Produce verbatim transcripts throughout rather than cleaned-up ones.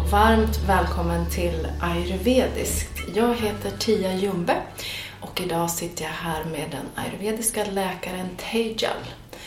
varmt välkommen till Ayurvediskt. Jag heter Tia Jumbe och idag sitter jag här med den ayurvediska läkaren Tejal.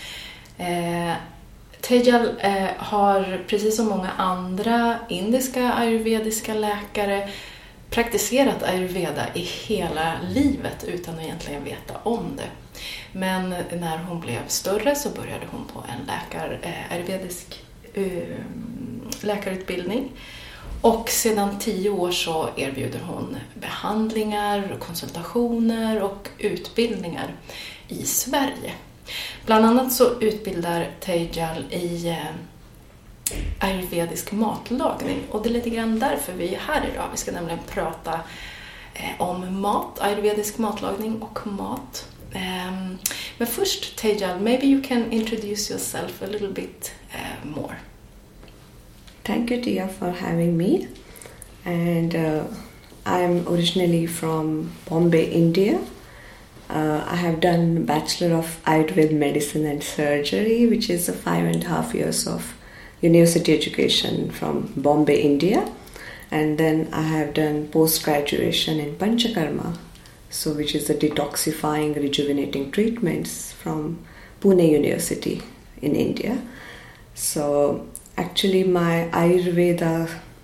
Eh, Tejal eh, har precis som många andra indiska ayurvediska läkare praktiserat ayurveda i hela livet utan att egentligen veta om det. Men när hon blev större så började hon på en läkar, eh, ayurvedisk eh, läkarutbildning. Och sedan tio år så erbjuder hon behandlingar, konsultationer och utbildningar i Sverige. Bland annat så utbildar Tejal i eh, ayurvedisk matlagning. Och det är lite grann därför vi är här idag. Vi ska nämligen prata eh, om mat, ayurvedisk matlagning och mat. Um, men först, Tejal, maybe you can introduce yourself a little bit uh, more. Thank you, Tia, for having me. And uh, I'm originally from Bombay, India. Uh, I have done Bachelor of Ayurveda Medicine and Surgery, which is a five and a half years of university education from Bombay, India. And then I have done post-graduation in Panchakarma, so which is the detoxifying, rejuvenating treatments from Pune University in India. So actually my Ayurveda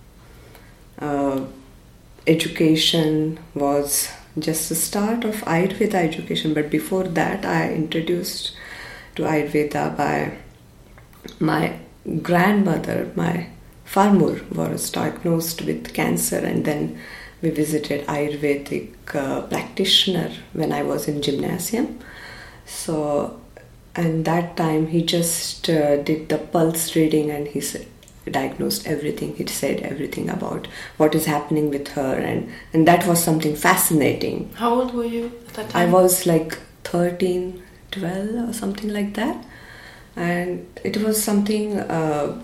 uh, education was just the start of Ayurveda education, but before that I introduced to Ayurveda by my grandmother. My farmer was diagnosed with cancer, and then we visited Ayurvedic uh, practitioner when I was in gymnasium. So, and that time he just uh, did the pulse reading, and he said, diagnosed everything. He said everything about what is happening with her, and, and that was something fascinating. How old were you at that time? I was like thirteen, twelve or something like that. And it was something, uh,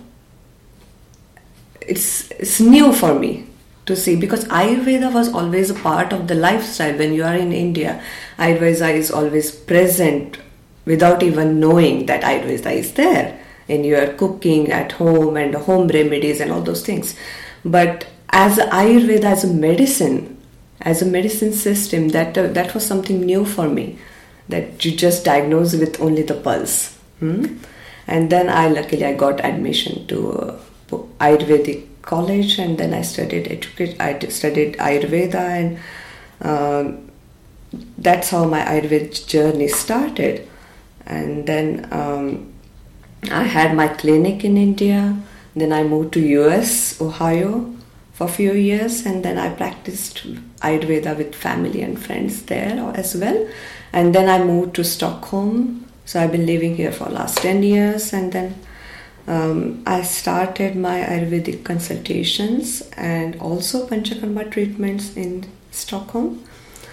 it's, it's new for me to see, because Ayurveda was always a part of the lifestyle. When you are in India, Ayurveda is always present without even knowing that Ayurveda is there in your cooking at home and home remedies and all those things. But as Ayurveda, as a medicine, as a medicine system, that uh, that was something new for me, that you just diagnose with only the pulse. Hmm? And then I luckily I got admission to uh, Ayurvedic college, and then I studied education. I studied Ayurveda, and uh, that's how my Ayurvedic journey started. And then um, I had my clinic in India. Then I moved to U S, Ohio, for a few years, and then I practiced Ayurveda with family and friends there as well. And then I moved to Stockholm. So I've been living here for the last ten years, and then um, I started my Ayurvedic consultations and also Panchakarma treatments in Stockholm.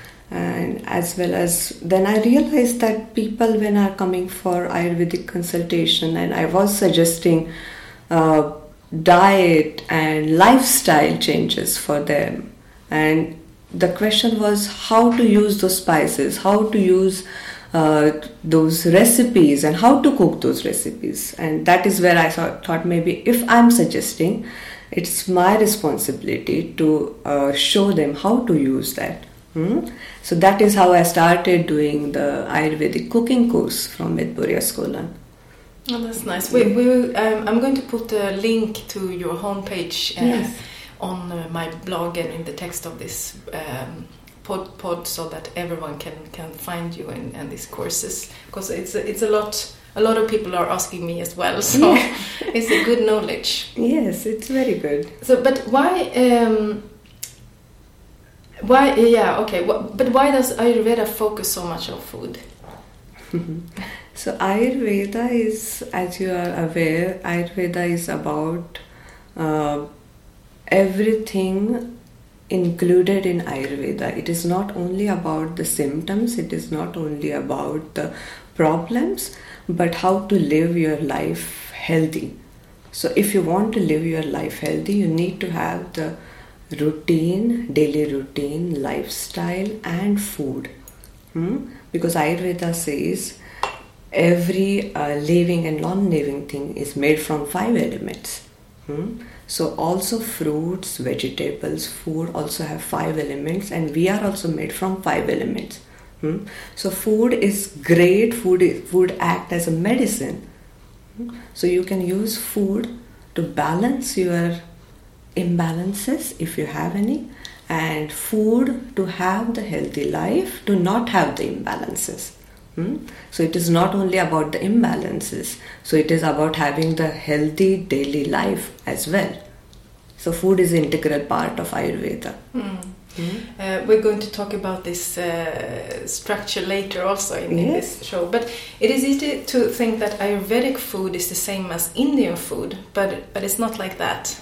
And as well as then I realized that people when are coming for Ayurvedic consultation, and I was suggesting uh, diet and lifestyle changes for them. And the question was how to use those spices, how to use Uh, those recipes, and how to cook those recipes. And that is where I thought, thought maybe if I'm suggesting, it's my responsibility to uh, show them how to use that. Hmm? So that is how I started doing the Ayurvedic cooking course from Midpuri Skolan. Oh, that's nice. We, we, um, I'm going to put a link to your homepage uh, yes. on uh, my blog and in the text of this um, Pod, pod so that everyone can, can find you in, in these courses, because it's a, it's a lot a lot of people are asking me as well, so yeah. It's a good knowledge. Yes, it's very good. So but why um, why yeah okay wh- but why does Ayurveda focus so much on food? So Ayurveda is, as you are aware, Ayurveda is about uh, everything included in Ayurveda. It is not only about the symptoms, it is not only about the problems, but how to live your life healthy. So if you want to live your life healthy, you need to have the routine, daily routine, lifestyle and food. Hmm? Because Ayurveda says every uh, living and non-living thing is made from five elements. Hmm? So also fruits, vegetables, food also have five elements, and we are also made from five elements. Hmm? So food is great. Food is, food act as a medicine. Hmm? So you can use food to balance your imbalances if you have any, and food to have the healthy life, to not have the imbalances. Hmm? So it is not only about the imbalances, so it is about having the healthy daily life as well. So food is an integral part of Ayurveda. Mm. Mm. Uh, we're going to talk about this uh, structure later also in, yes. in this show, but it is easy to think that Ayurvedic food is the same as Indian food, but, but it's not like that.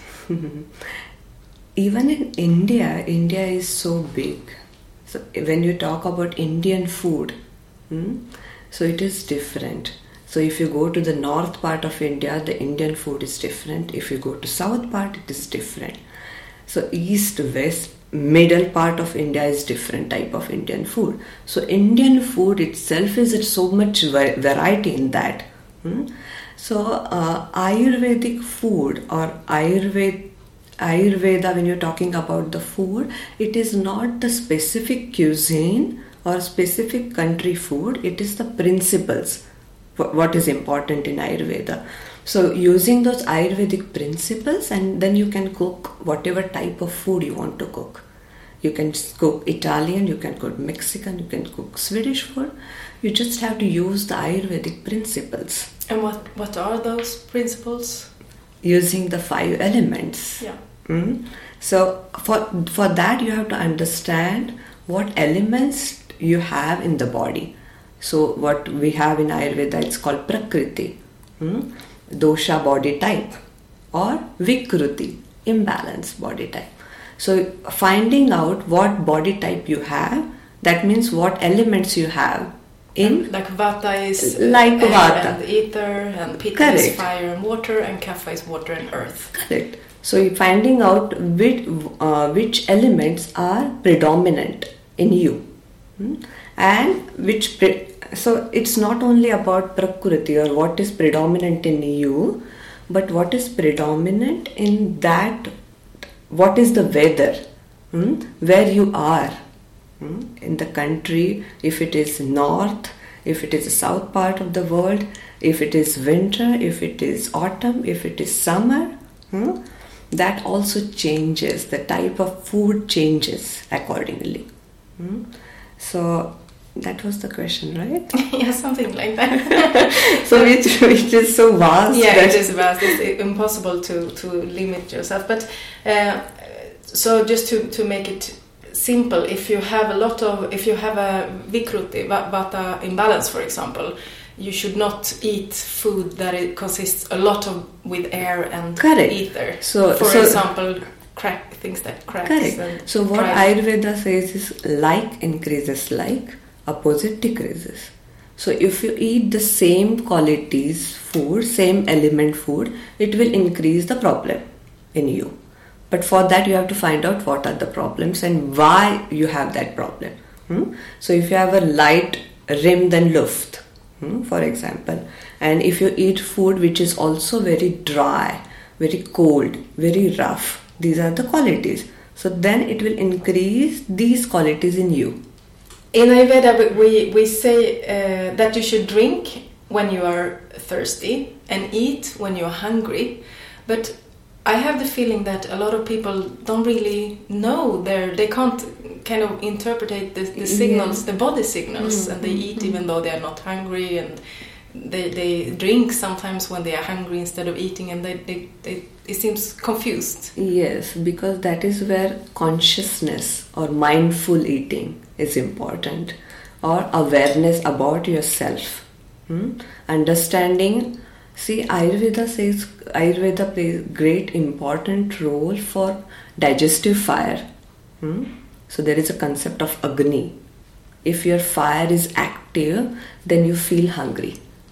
Even in India, India is so big. So when you talk about Indian food, Hmm? so it is different. So if you go to the north part of India, the Indian food is different. If you go to south part, it is different. So east, west, middle part of India is different type of Indian food. So Indian food itself is so much variety in that. Hmm? So uh, Ayurvedic food or Ayurveda, Ayurveda, when you're talking about the food, it is not the specific cuisine or specific country food, it is the principles, what is important in Ayurveda. So using those Ayurvedic principles, and then you can cook whatever type of food you want to cook. You can cook Italian, you can cook Mexican, you can cook Swedish food. You just have to use the Ayurvedic principles. And what, what are those principles? Using the five elements. Yeah. Mm? So for, for that you have to understand what elements you have in the body. So what we have in Ayurveda, it's called Prakriti, hmm? dosha body type, or Vikruti, imbalance body type. So finding out what body type you have, that means what elements you have in. Like Vata is like air Vata. and ether, and Pitta Correct. is fire and water, and Kapha is water and earth. Correct. So you're finding out which, uh, which elements are predominant in you. Hmm? And which pre- so it's not only about Prakriti or what is predominant in you, but what is predominant in that, what is the weather, hmm? where you are hmm? in the country, if it is north, if it is the south part of the world, if it is winter, if it is autumn, if it is summer, hmm? that also changes, the type of food changes accordingly. Hmm? So that was the question, right? Yeah, something like that. So which, which is so vast. Yeah, that it is vast. It's impossible to, to limit yourself. But uh, so just to, to make it simple, if you have a lot of, if you have a Vikruti, Vata imbalance, for example, you should not eat food that it consists a lot of with air and Correct. ether. So, for so, example, crack things that cracks. Correct. And so what dry. Ayurveda says is like increases like, opposite decreases. So if you eat the same qualities food, same element food, it will increase the problem in you. But for that you have to find out what are the problems and why you have that problem. Hmm? So if you have a light rim than Luft, hmm, for example, and if you eat food which is also very dry, very cold, very rough, these are the qualities. So then it will increase these qualities in you. In Ayurveda, we, we say uh, that you should drink when you are thirsty and eat when you're hungry. But I have the feeling that a lot of people don't really know their, they can't kind of interpret the, the signals, yeah. the body signals, mm-hmm. and they eat even though they are not hungry, and they, they drink sometimes when they are hungry instead of eating, and they, they, they it seems confused. Yes, because that is where consciousness or mindful eating is important, or awareness about yourself. Hmm? Understanding. See, Ayurveda says Ayurveda plays great important role for digestive fire. Hmm? So there is a concept of Agni. If your fire is active, then you feel hungry,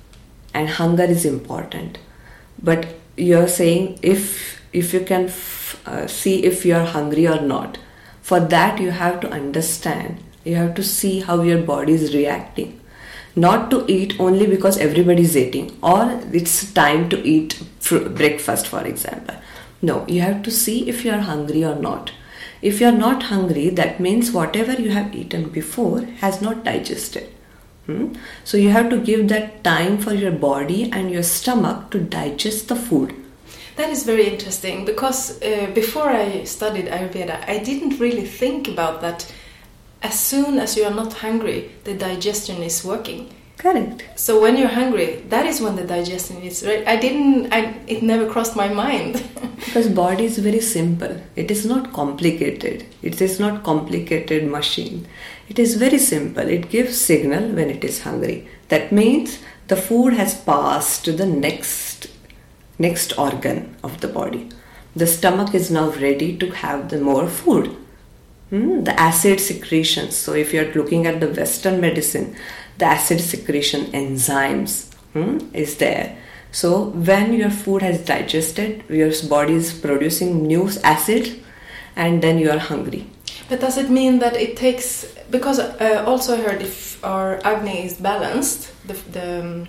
and hunger is important. But you're saying if if you can f- uh, see if you're hungry or not. For that you have to understand. You have to see how your body is reacting. Not to eat only because everybody is eating, or it's time to eat fr- breakfast, for example. No, you have to see if you are hungry or not. If you are not hungry, that means whatever you have eaten before has not digested. Hmm? So you have to give that time for your body and your stomach to digest the food. That is very interesting, because uh, before I studied Ayurveda, I didn't really think about that. As soon as you are not hungry, the digestion is working. Correct. So when you're hungry, that is when the digestion is right. I didn't, I, it never crossed my mind. Because body is very simple. It is not complicated. It is not complicated machine. It is very simple. It gives signal when it is hungry. That means the food has passed to the next, next organ of the body. The stomach is now ready to have the more food. Hmm? The acid secretions. So if you are looking at the Western medicine, the acid secretion enzymes hmm, is there. So when your food has digested, your body is producing new acid, and then you are hungry. But does it mean that it takes, because uh, also I heard if our Agni is balanced, the, the um,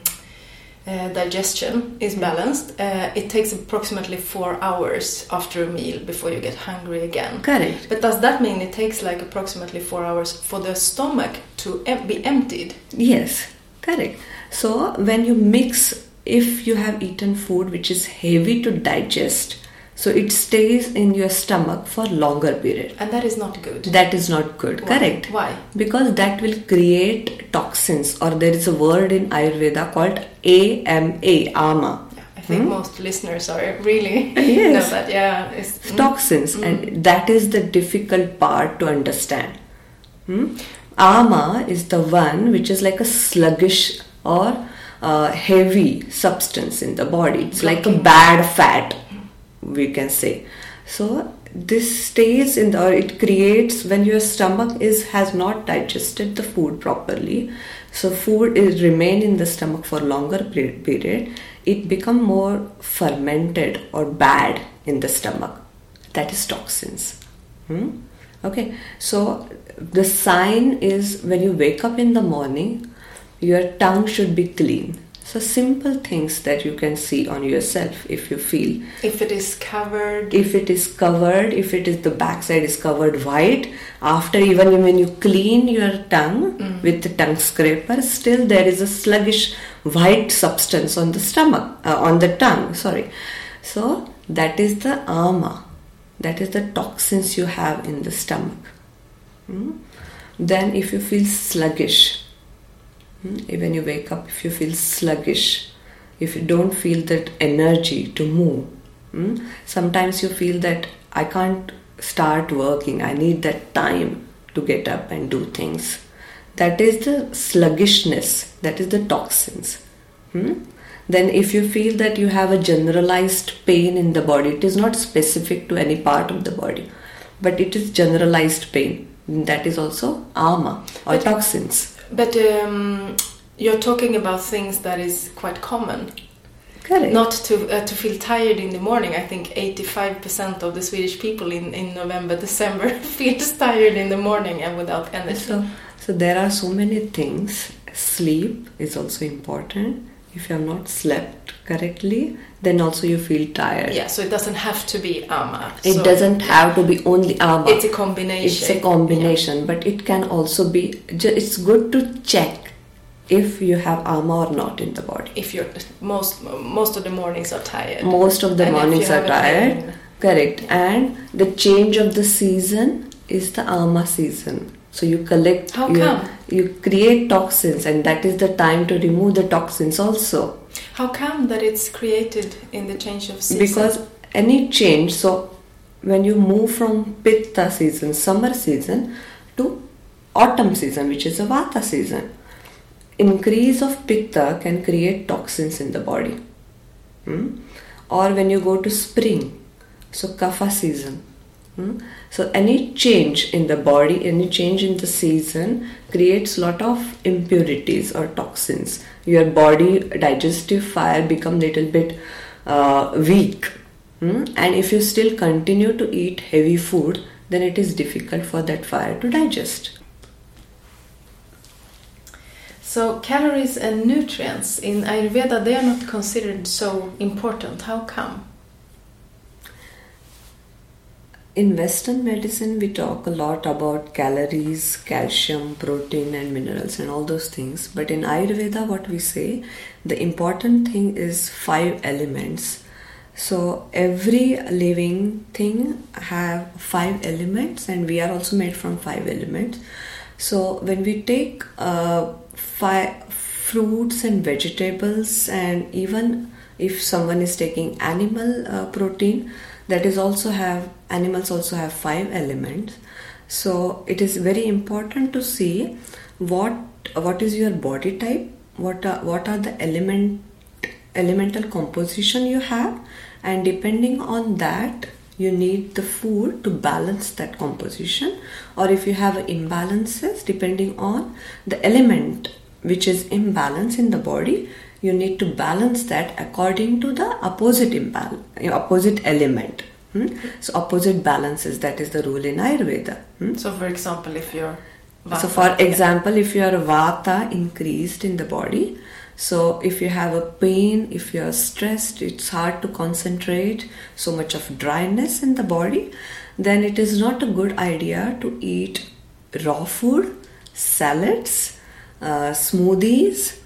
uh, digestion is balanced, uh, it takes approximately four hours after a meal before you get hungry again. Correct. But does that mean it takes like approximately four hours for the stomach to em- be emptied? Yes, correct. So when you mix, if you have eaten food which is heavy to digest, so it stays in your stomach for longer period. And that is not good. That is not good. Why? Correct. Why? Because that will create toxins, or there is a word in Ayurveda called A M A, ama. Yeah, I think hmm? most listeners are really yes. know that. Yeah, it's, toxins, mm. and that is the difficult part to understand. Hmm? Ama is the one which is like a sluggish or uh, heavy substance in the body. It's okay. Like a bad fat, we can say. So this stays in the, or it creates when your stomach is has not digested the food properly. So food is remain in the stomach for longer period. It become more fermented or bad in the stomach. That is toxins. Hmm? Okay. So the sign is when you wake up in the morning, your tongue should be clean. So simple things that you can see on yourself if you feel. If it is covered. If it is covered, if it is the backside is covered white, after even when you clean your tongue mm. with the tongue scraper, still there is a sluggish white substance on the stomach, uh, on the tongue, sorry. So that is the ama. That is the toxins you have in the stomach. Hmm? Then if you feel sluggish, when you wake up, if you feel sluggish, if you don't feel that energy to move, hmm? sometimes you feel that I can't start working, I need that time to get up and do things. That is the sluggishness, that is the toxins. Hmm? Then if you feel that you have a generalized pain in the body, it is not specific to any part of the body, but it is generalized pain. That is also ama or but, toxins. But um, you're talking about things that is quite common. Correct. Not to uh, to feel tired in the morning. I think eighty-five percent of the Swedish people in, in November, December feels tired in the morning and without energy. So, so there are so many things. Sleep is also important. If you have not slept correctly, then also you feel tired. Yeah, so it doesn't have to be ama. It so doesn't have to be only ama. It's a combination. It's a combination, yeah. But it can also be, it's good to check if you have ama or not in the body. If you're, most most of the mornings are tired. Most of the and mornings are tired. Pain. Correct. And the change of the season is the ama season. So you collect, How you, come? you create toxins, and that is the time to remove the toxins also. How come that it's created in the change of season? Because any change, so when you move from pitta season, summer season, to autumn season, which is a vata season, increase of pitta can create toxins in the body. Hmm? Or when you go to spring, so kapha season. Hmm? So any change in the body, any change in the season creates lot of impurities or toxins. Your body digestive fire become little bit uh, weak. Hmm? And if you still continue to eat heavy food, then it is difficult for that fire to digest. So calories and nutrients in Ayurveda, they are not considered so important. How come? in Western medicine, we talk a lot about calories, calcium, protein, and minerals, and all those things. But in Ayurveda, what we say, the important thing is five elements. So every living thing have five elements, and we are also made from five elements. So when we take uh, five fruits and vegetables, and even if someone is taking animal uh, protein, that is also have animals also have five elements. So it is very important to see what what is your body type, what are, what are the element elemental composition you have, and depending on that you need the food to balance that composition. Or if you have imbalances depending on the element which is imbalance in the body, you need to balance that according to the opposite imbalance, opposite element. Hmm? So opposite balances, that is the rule in Ayurveda. Hmm? So for example, if you're Vata, so for example, if you are Vata increased in the body, so if you have a pain, if you are stressed, it's hard to concentrate, so much of dryness in the body, then it is not a good idea to eat raw food, salads, uh, smoothies,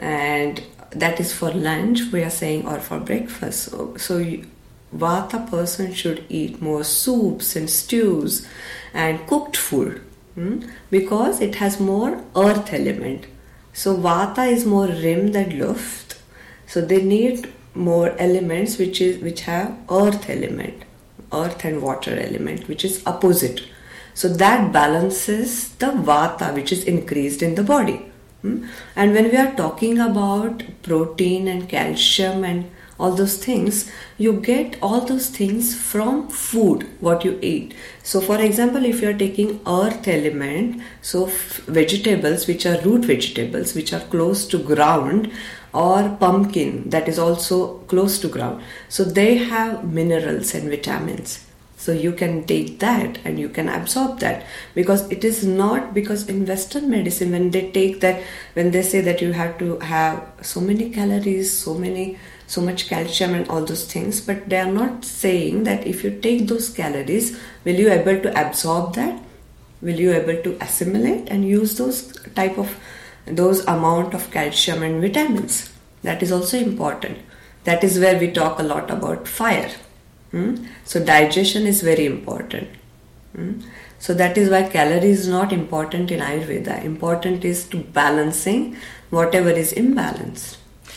and that is for lunch we are saying, or for breakfast. So, so you, Vata person should eat more soups and stews and cooked food, hmm? because it has more earth element. So Vata is more Rim than Luft. So they need more elements which is which have earth element, earth and water element, which is opposite. So that balances the Vata which is increased in the body. Hmm? And when we are talking about protein and calcium and all those things, you get all those things from food, what you eat. So for example, if you are taking earth element, so f- vegetables which are root vegetables which are close to ground, or pumpkin that is also close to ground, so they have minerals and vitamins. So you can take that and you can absorb that, because it is not, because in Western medicine when they take that, when they say that you have to have so many calories, so many so much calcium and all those things, but they are not saying that if you take those calories, will you able to absorb that, will you able to assimilate and use those type of those amount of calcium and vitamins. That is also important. That is where we talk a lot about fire. Hmm? So digestion is very important. Hmm? So that is why calories is not important in Ayurveda. Important is to balancing whatever is imbalanced.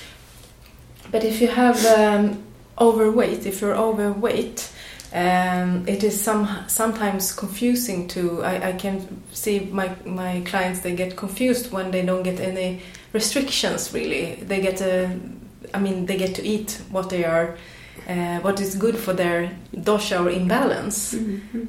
But if you have um, overweight, if you're overweight, um, it is some sometimes confusing to. I, I can see my my clients, they get confused when they don't get any restrictions. Really, they get a. I mean, they get to eat what they are, uh, what is good for their dosha or imbalance. Mm-hmm.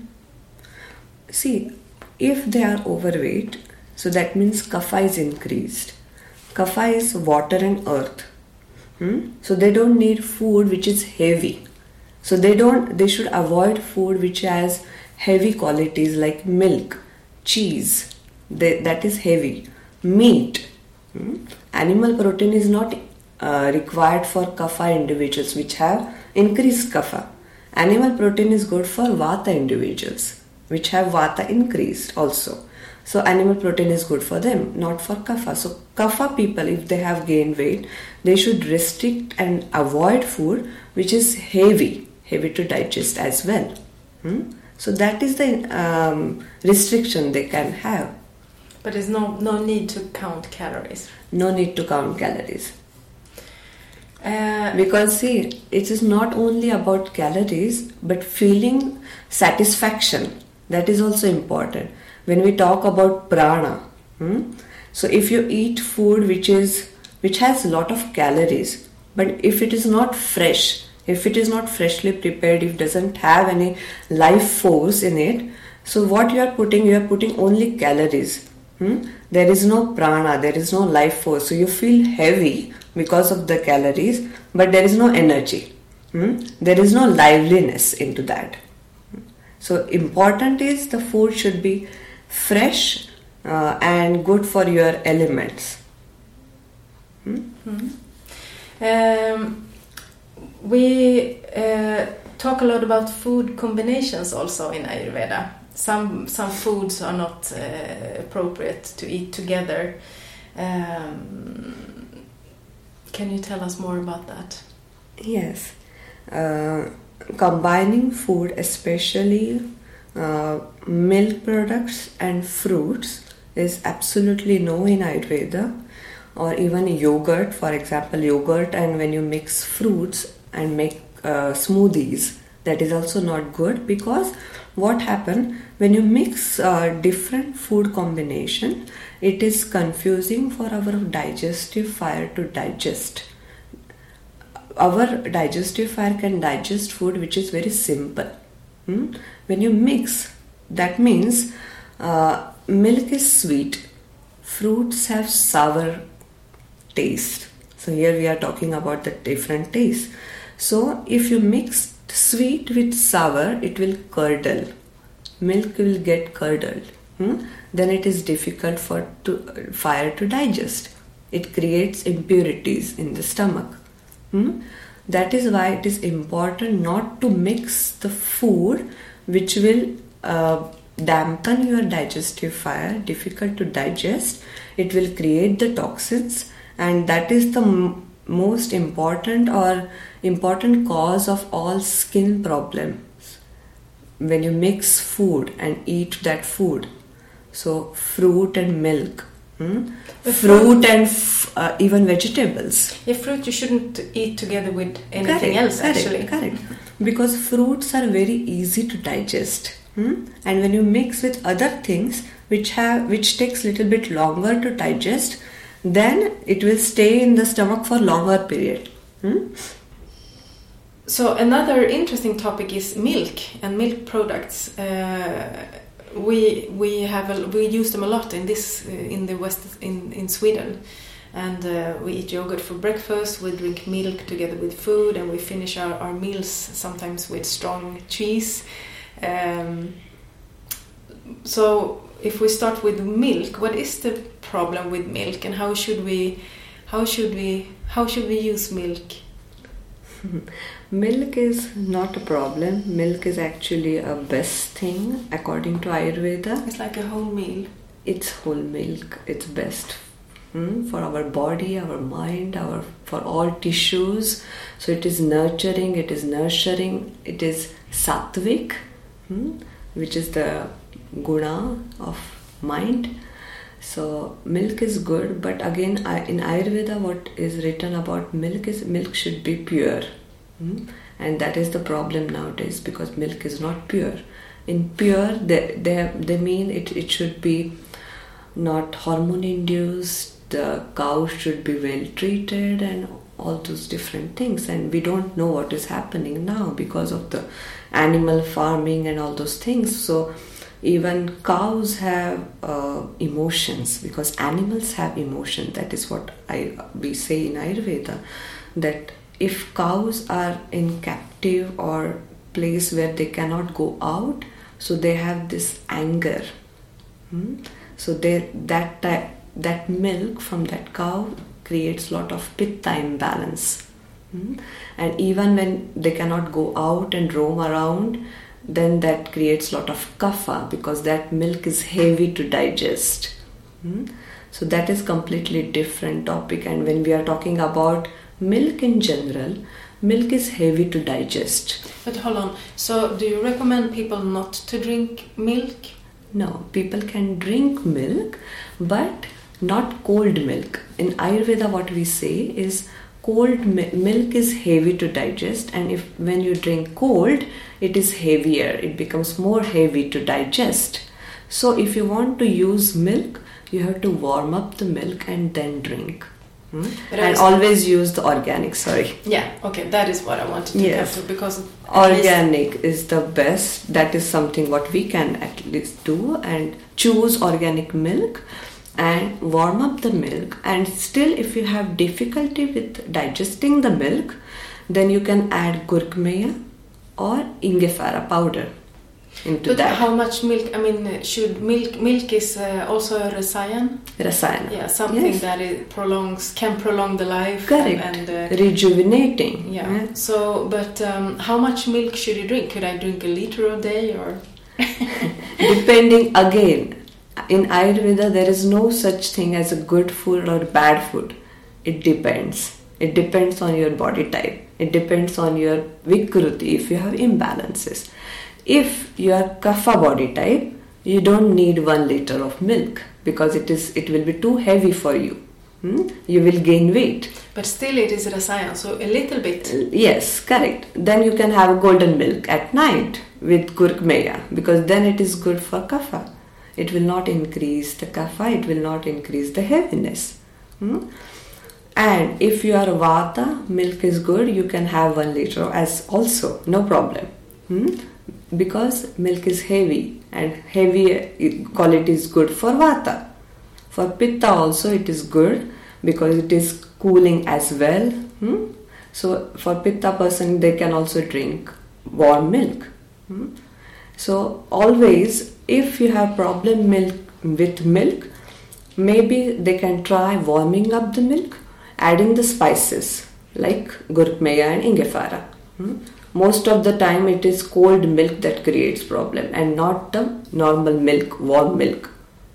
See, if they are overweight, so that means kapha is increased. Kapha is water and earth. Hmm? So they don't need food which is heavy. So they don't. They should avoid food which has heavy qualities like milk, cheese. They, that is heavy. Meat. Hmm? Animal protein is not uh, required for kapha individuals which have increased kapha. Animal protein is good for vata individuals which have vata increased also. So animal protein is good for them, not for kapha. So kapha people, if they have gained weight, they should restrict and avoid food which is heavy, heavy to digest as well. Hmm? So that is the um, restriction they can have. But there's no no need to count calories. No need to count calories. Uh, because see, it is not only about calories, but feeling satisfaction. That is also important. When we talk about prana, hmm? so if you eat food which is which has a lot of calories, but if it is not fresh, if it is not freshly prepared, if it doesn't have any life force in it, so what you are putting, you are putting only calories. Hmm? There is no prana, there is no life force. So you feel heavy because of the calories, but there is no energy. Hmm? There is no liveliness into that. So important is the food should be fresh uh, and good for your elements. Hmm? Mm-hmm. Um, we uh, talk a lot about food combinations also in Ayurveda. Some some foods are not uh, appropriate to eat together. Um, can you tell us more about that? Yes. Uh, combining food, especially uh, milk products and fruits, is absolutely no in Ayurveda. Or even yogurt, for example, yogurt, and when you mix fruits and make uh, smoothies, that is also not good, because what happens when you mix uh, different food combination, it is confusing for our digestive fire to digest. Our digestive fire can digest food which is very simple. Hmm? When you mix, that means uh, milk is sweet, fruits have sour taste. So here we are talking about the different taste. So if you mix sweet with sour, it will curdle. Milk will get curdled. Hmm? Then it is difficult for to, fire to digest. It creates impurities in the stomach. Hmm? That is why it is important not to mix the food which will uh, dampen your digestive fire, difficult to digest. It will create the toxins, and that is the m- most important or important cause of all skin problems. When you mix food and eat that food, so fruit and milk, hmm? fruit and f- uh, even vegetables. Yeah, fruit you shouldn't eat together with anything correct, else correct, actually. Correct, because fruits are very easy to digest. Hmm? And when you mix with other things which have which takes little bit longer to digest, then it will stay in the stomach for longer period. Hmm? So another interesting topic is milk and milk products. Uh, we we have a, we use them a lot in this uh, in the west in in Sweden, and uh, we eat yogurt for breakfast. We drink milk together with food, and we finish our, our meals sometimes with strong cheese. Um, so if we start with milk, what is the problem with milk, and how should we how should we how should we use milk? Milk is not a problem. Milk is actually a best thing according to Ayurveda. It's like a whole meal. It's whole milk. It's best hmm, for our body, our mind, our for all tissues. So it is nurturing. It is nurturing. It is sattvic, hmm, which is the guna of mind. So milk is good, but again in Ayurveda what is written about milk is milk should be pure. Hmm? And that is the problem nowadays, because milk is not pure. In pure, they, they, they mean it, it should be not hormone induced, the cow should be well treated and all those different things. And we don't know what is happening now because of the animal farming and all those things. So even cows have uh, emotions, because animals have emotion. That is what I we say in Ayurveda, that if cows are in captive or place where they cannot go out, so they have this anger. Hmm? So they that type, that milk from that cow creates lot of pitta imbalance. Hmm? And even when they cannot go out and roam around, then that creates lot of kapha, because that milk is heavy to digest. Hmm? So that is completely different topic. And when we are talking about milk in general, milk is heavy to digest. But hold on, so do you recommend people not to drink milk? No, people can drink milk, but not cold milk. In Ayurveda what we say is cold mi- milk is heavy to digest, and if when you drink cold, it is heavier, it becomes more heavy to digest. So if you want to use milk, you have to warm up the milk and then drink. Hmm? And always use the organic, sorry. Yeah, okay, that is what I wanted to yes. get to, because organic is the best. That is something what we can at least do, and choose organic milk and warm up the milk. And still if you have difficulty with digesting the milk, then you can add gurkmeya or ingefara powder. into but that. How much milk? I mean, should milk milk is uh, also a rasayan? Rasayana. Yeah, something yes. that it prolongs can prolong the life. Correct. And, and uh, rejuvenating. Yeah. yeah. So, but um, how much milk should you drink? Could I drink a liter a day or? Depending again. In Ayurveda, there is no such thing as a good food or bad food. It depends. It depends on your body type. It depends on your vikruti, if you have imbalances. If you are kapha body type, you don't need one liter of milk because it is it will be too heavy for you. Hmm? You will gain weight. But still it is rasayan, so a little bit. Yes, correct. Then you can have golden milk at night with gurkmeya because then it is good for kapha. It will not increase the kapha, it will not increase the heaviness. Hmm? And if you are vata, milk is good, you can have one liter as also, no problem. Hmm? Because milk is heavy and heavy quality is good for vata. For pitta also it is good because it is cooling as well. Hmm? So for pitta person they can also drink warm milk. Hmm? So always if you have problem milk with milk, maybe they can try warming up the milk, adding the spices like gurkmeya and ingefara. Hmm? Most of the time it is cold milk that creates problem and not the normal milk, warm milk.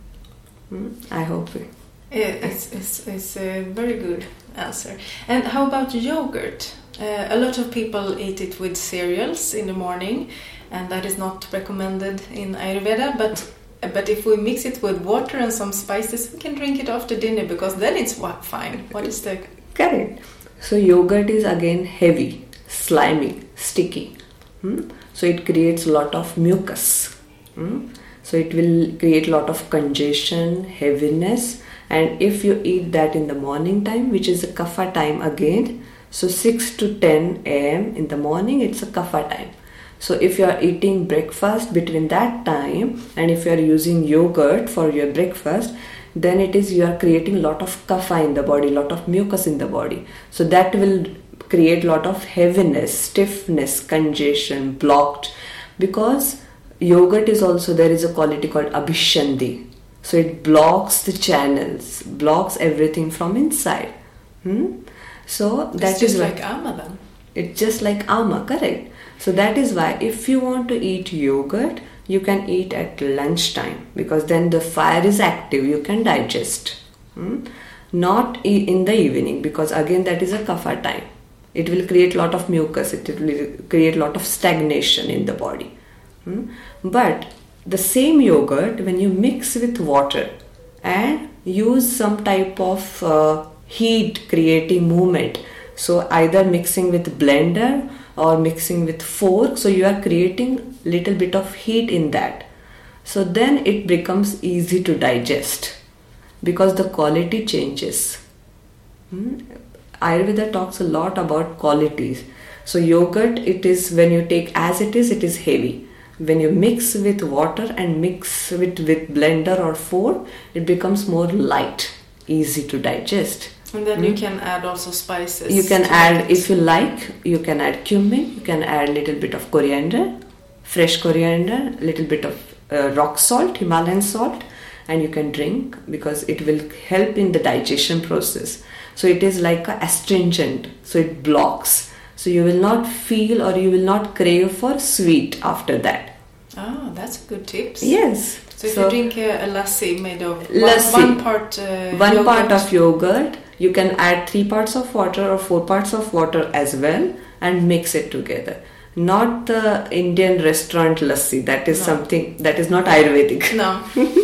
Hmm? I hope it. Yeah, it's, it's, it's a very good answer. And how about yogurt? Uh, a lot of people eat it with cereals in the morning, and that is not recommended in Ayurveda, but but if we mix it with water and some spices, we can drink it after dinner because then it's fine. What is the... Correct. So yogurt is again heavy, slimy, sticky. Hmm? So it creates a lot of mucus. Hmm? So it will create a lot of congestion, heaviness, and if you eat that in the morning time, which is a kapha time again, so six to ten a m in the morning, it's a kapha time. So if you are eating breakfast between that time and if you are using yogurt for your breakfast, then it is you are creating a lot of kapha in the body, lot of mucus in the body. So that will create a lot of heaviness, stiffness, congestion, blocked, because yogurt is also, there is a quality called abhishandi. So it blocks the channels, blocks everything from inside. Hmm? So that it's just is like ama then. It's just like ama, correct. So that is why if you want to eat yogurt, you can eat at lunchtime because then the fire is active, you can digest. Hmm? Not e- in the evening because again that is a kapha time. It will create a lot of mucus, it will create a lot of stagnation in the body. Hmm? But the same yogurt, when you mix with water and use some type of uh, heat creating movement, so either mixing with blender or mixing with fork, so you are creating little bit of heat in that. So then it becomes easy to digest because the quality changes. Hmm? Ayurveda talks a lot about qualities. So yogurt, it is when you take as it is, it is heavy. When you mix with water and mix with, with blender or fork, it becomes more light, easy to digest. And then mm. you can add also spices. You can add, if you like, you can add cumin, you can add a little bit of coriander, fresh coriander, little bit of uh, rock salt, Himalayan salt, and you can drink because it will help in the digestion process. So it is like a astringent, so it blocks. So you will not feel or you will not crave for sweet after that. Ah, that's a good tips. Yes. So if so you drink a, a lassi made of lassi, one, one part uh, one yogurt. part of yogurt, you can add three parts of water or four parts of water as well and mix it together. Not the Indian restaurant lassi. That is no. something that is not Ayurvedic. No.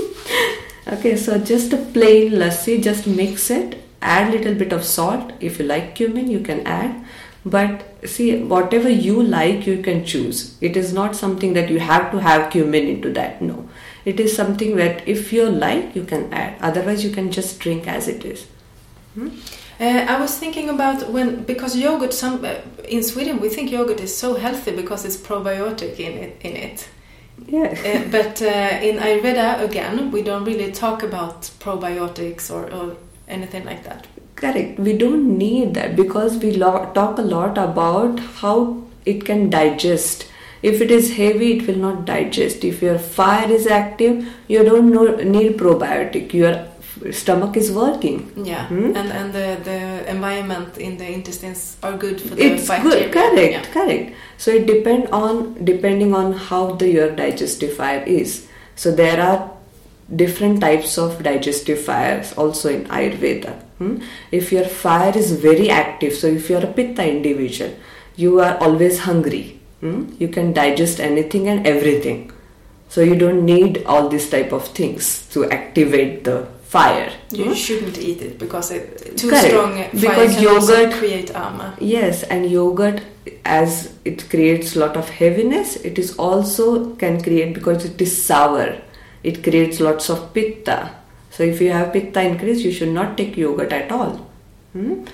Okay, so just a plain lassi, just mix it. Add little bit of salt. If you like cumin, you can add. But see, whatever you like, you can choose. It is not something that you have to have cumin into that. No. It is something that if you like, you can add. Otherwise, you can just drink as it is. Hmm? Uh, I was thinking about when, because yogurt, some uh, in Sweden, we think yogurt is so healthy because it's probiotic in it. In it. Yeah. uh, but uh, in Ayurveda, again, we don't really talk about probiotics or, or anything like that. Correct. We don't need that because we lo- talk a lot about how it can digest. If it is heavy, it will not digest. If your fire is active, you don't know, need probiotic. Your stomach is working. Yeah, hmm? and and the, the environment in the intestines are good for the it's bacteria. good, correct, Yeah. correct. So it depend on depending on how the your digestive fire is. So there are different types of digestive fires also in Ayurveda. Hmm? If your fire is very active, so if you are a Pitta individual, you are always hungry. Hmm? You can digest anything and everything. So you don't need all these type of things to activate the fire. You Hmm? shouldn't eat it because it too Correct. strong fire Because can also yogurt- create ama. Yes, and yogurt, as it creates lot of heaviness, it is also can create, because it is sour, it creates lots of pitta. So if you have pitta increase, you should not take yogurt at all. Hmm?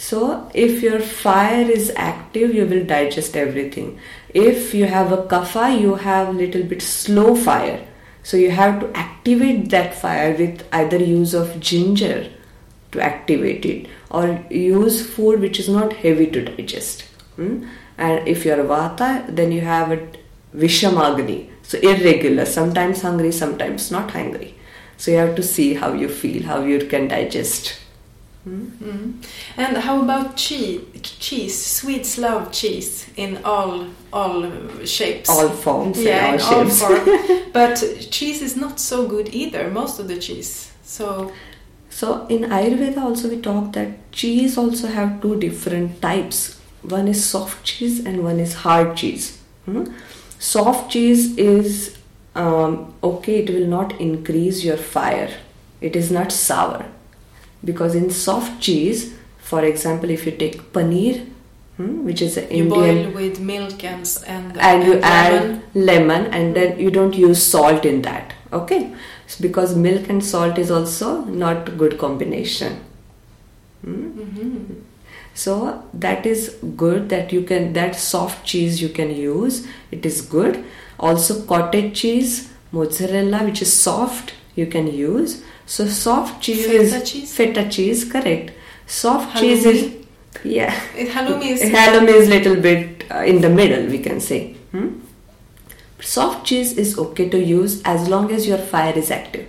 So if your fire is active, you will digest everything. If you have a kapha, you have little bit slow fire. So you have to activate that fire with either use of ginger to activate it, or use food which is not heavy to digest. Hmm? And if you are vata, then you have a vishamagni, so irregular, sometimes hungry, sometimes not hungry. So you have to see how you feel, how you can digest. Hmm? Mm. And how about cheese? Cheese, Swedes love cheese in all all shapes. All forms yeah, and in all all shapes. forms. But cheese is not so good either. Most of the cheese. So So in Ayurveda also we talk that cheese also have two different types. One is soft cheese and one is hard cheese. Hmm? Soft cheese is um, okay, it will not increase your fire. It is not sour. Because in soft cheese, for example, if you take paneer, hmm, which is an you Indian, boil with milk and s- and, and you and add lemon. lemon, and then you don't use salt in that. Okay, so because milk and salt is also not good combination. Hmm? Mhm. So that is good, that you can, that soft cheese you can use. It is good. Also cottage cheese, mozzarella, which is soft, you can use. So soft cheese Feta is cheese? feta cheese, correct. Soft Halloumi? cheese is, yeah. It- halloumi is Halloumi is little bit uh, in the middle, we can say. Hmm? Soft cheese is okay to use as long as your fire is active,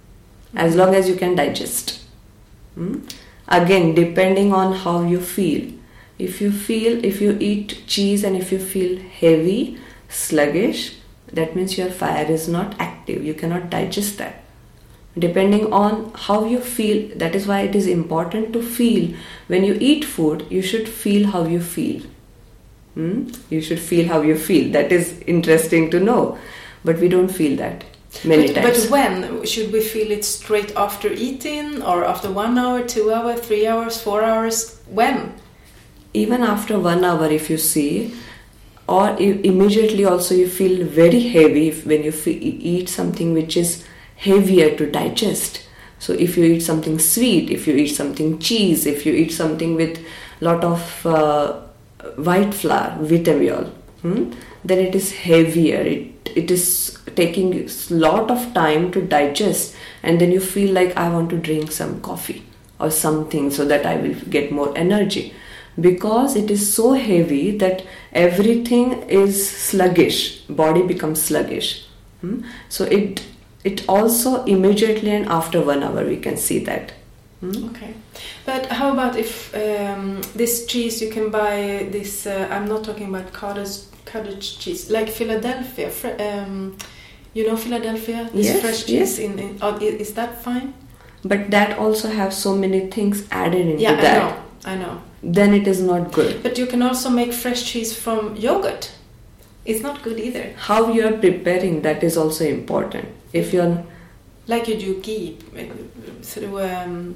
as long as you can digest. Hmm? Again, depending on how you feel. If you feel, if you eat cheese and if you feel heavy, sluggish, that means your fire is not active. You cannot digest that. Depending on how you feel, that is why it is important to feel. When you eat food, you should feel how you feel. Hmm? You should feel how you feel. That is interesting to know. But we don't feel that many but, times. but when should we feel it? Straight after eating, or after one hour, two hours, three hours, four hours? When? Even after one hour, if you see, or i- immediately also you feel very heavy if, when you fe- eat something which is heavier to digest. So if you eat something sweet, if you eat something cheese, if you eat something with lot of uh, white flour, vitamol, hmm, then it is heavier. It it is taking a lot of time to digest, and then you feel like I want to drink some coffee or something so that I will get more energy. Because it is so heavy that everything is sluggish, body becomes sluggish. Hmm? So it it also immediately and after one hour we can see that. Hmm? Okay, but how about if um, this cheese you can buy this? Uh, I'm not talking about cottage cottage cheese, like Philadelphia. Fre- um, you know Philadelphia, this Yes, fresh yes. cheese. In, in oh, i- is that fine? But that also have so many things added into Yeah, that. I know, I know. Then it is not good. But you can also make fresh cheese from yogurt. It's not good either. How you are preparing, that is also important. If you're Like you do ghee uh, through. Um,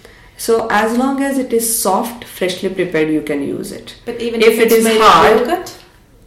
so as long as it is soft, freshly prepared, you can use it. but even If if, it it's is made hard, of yogurt,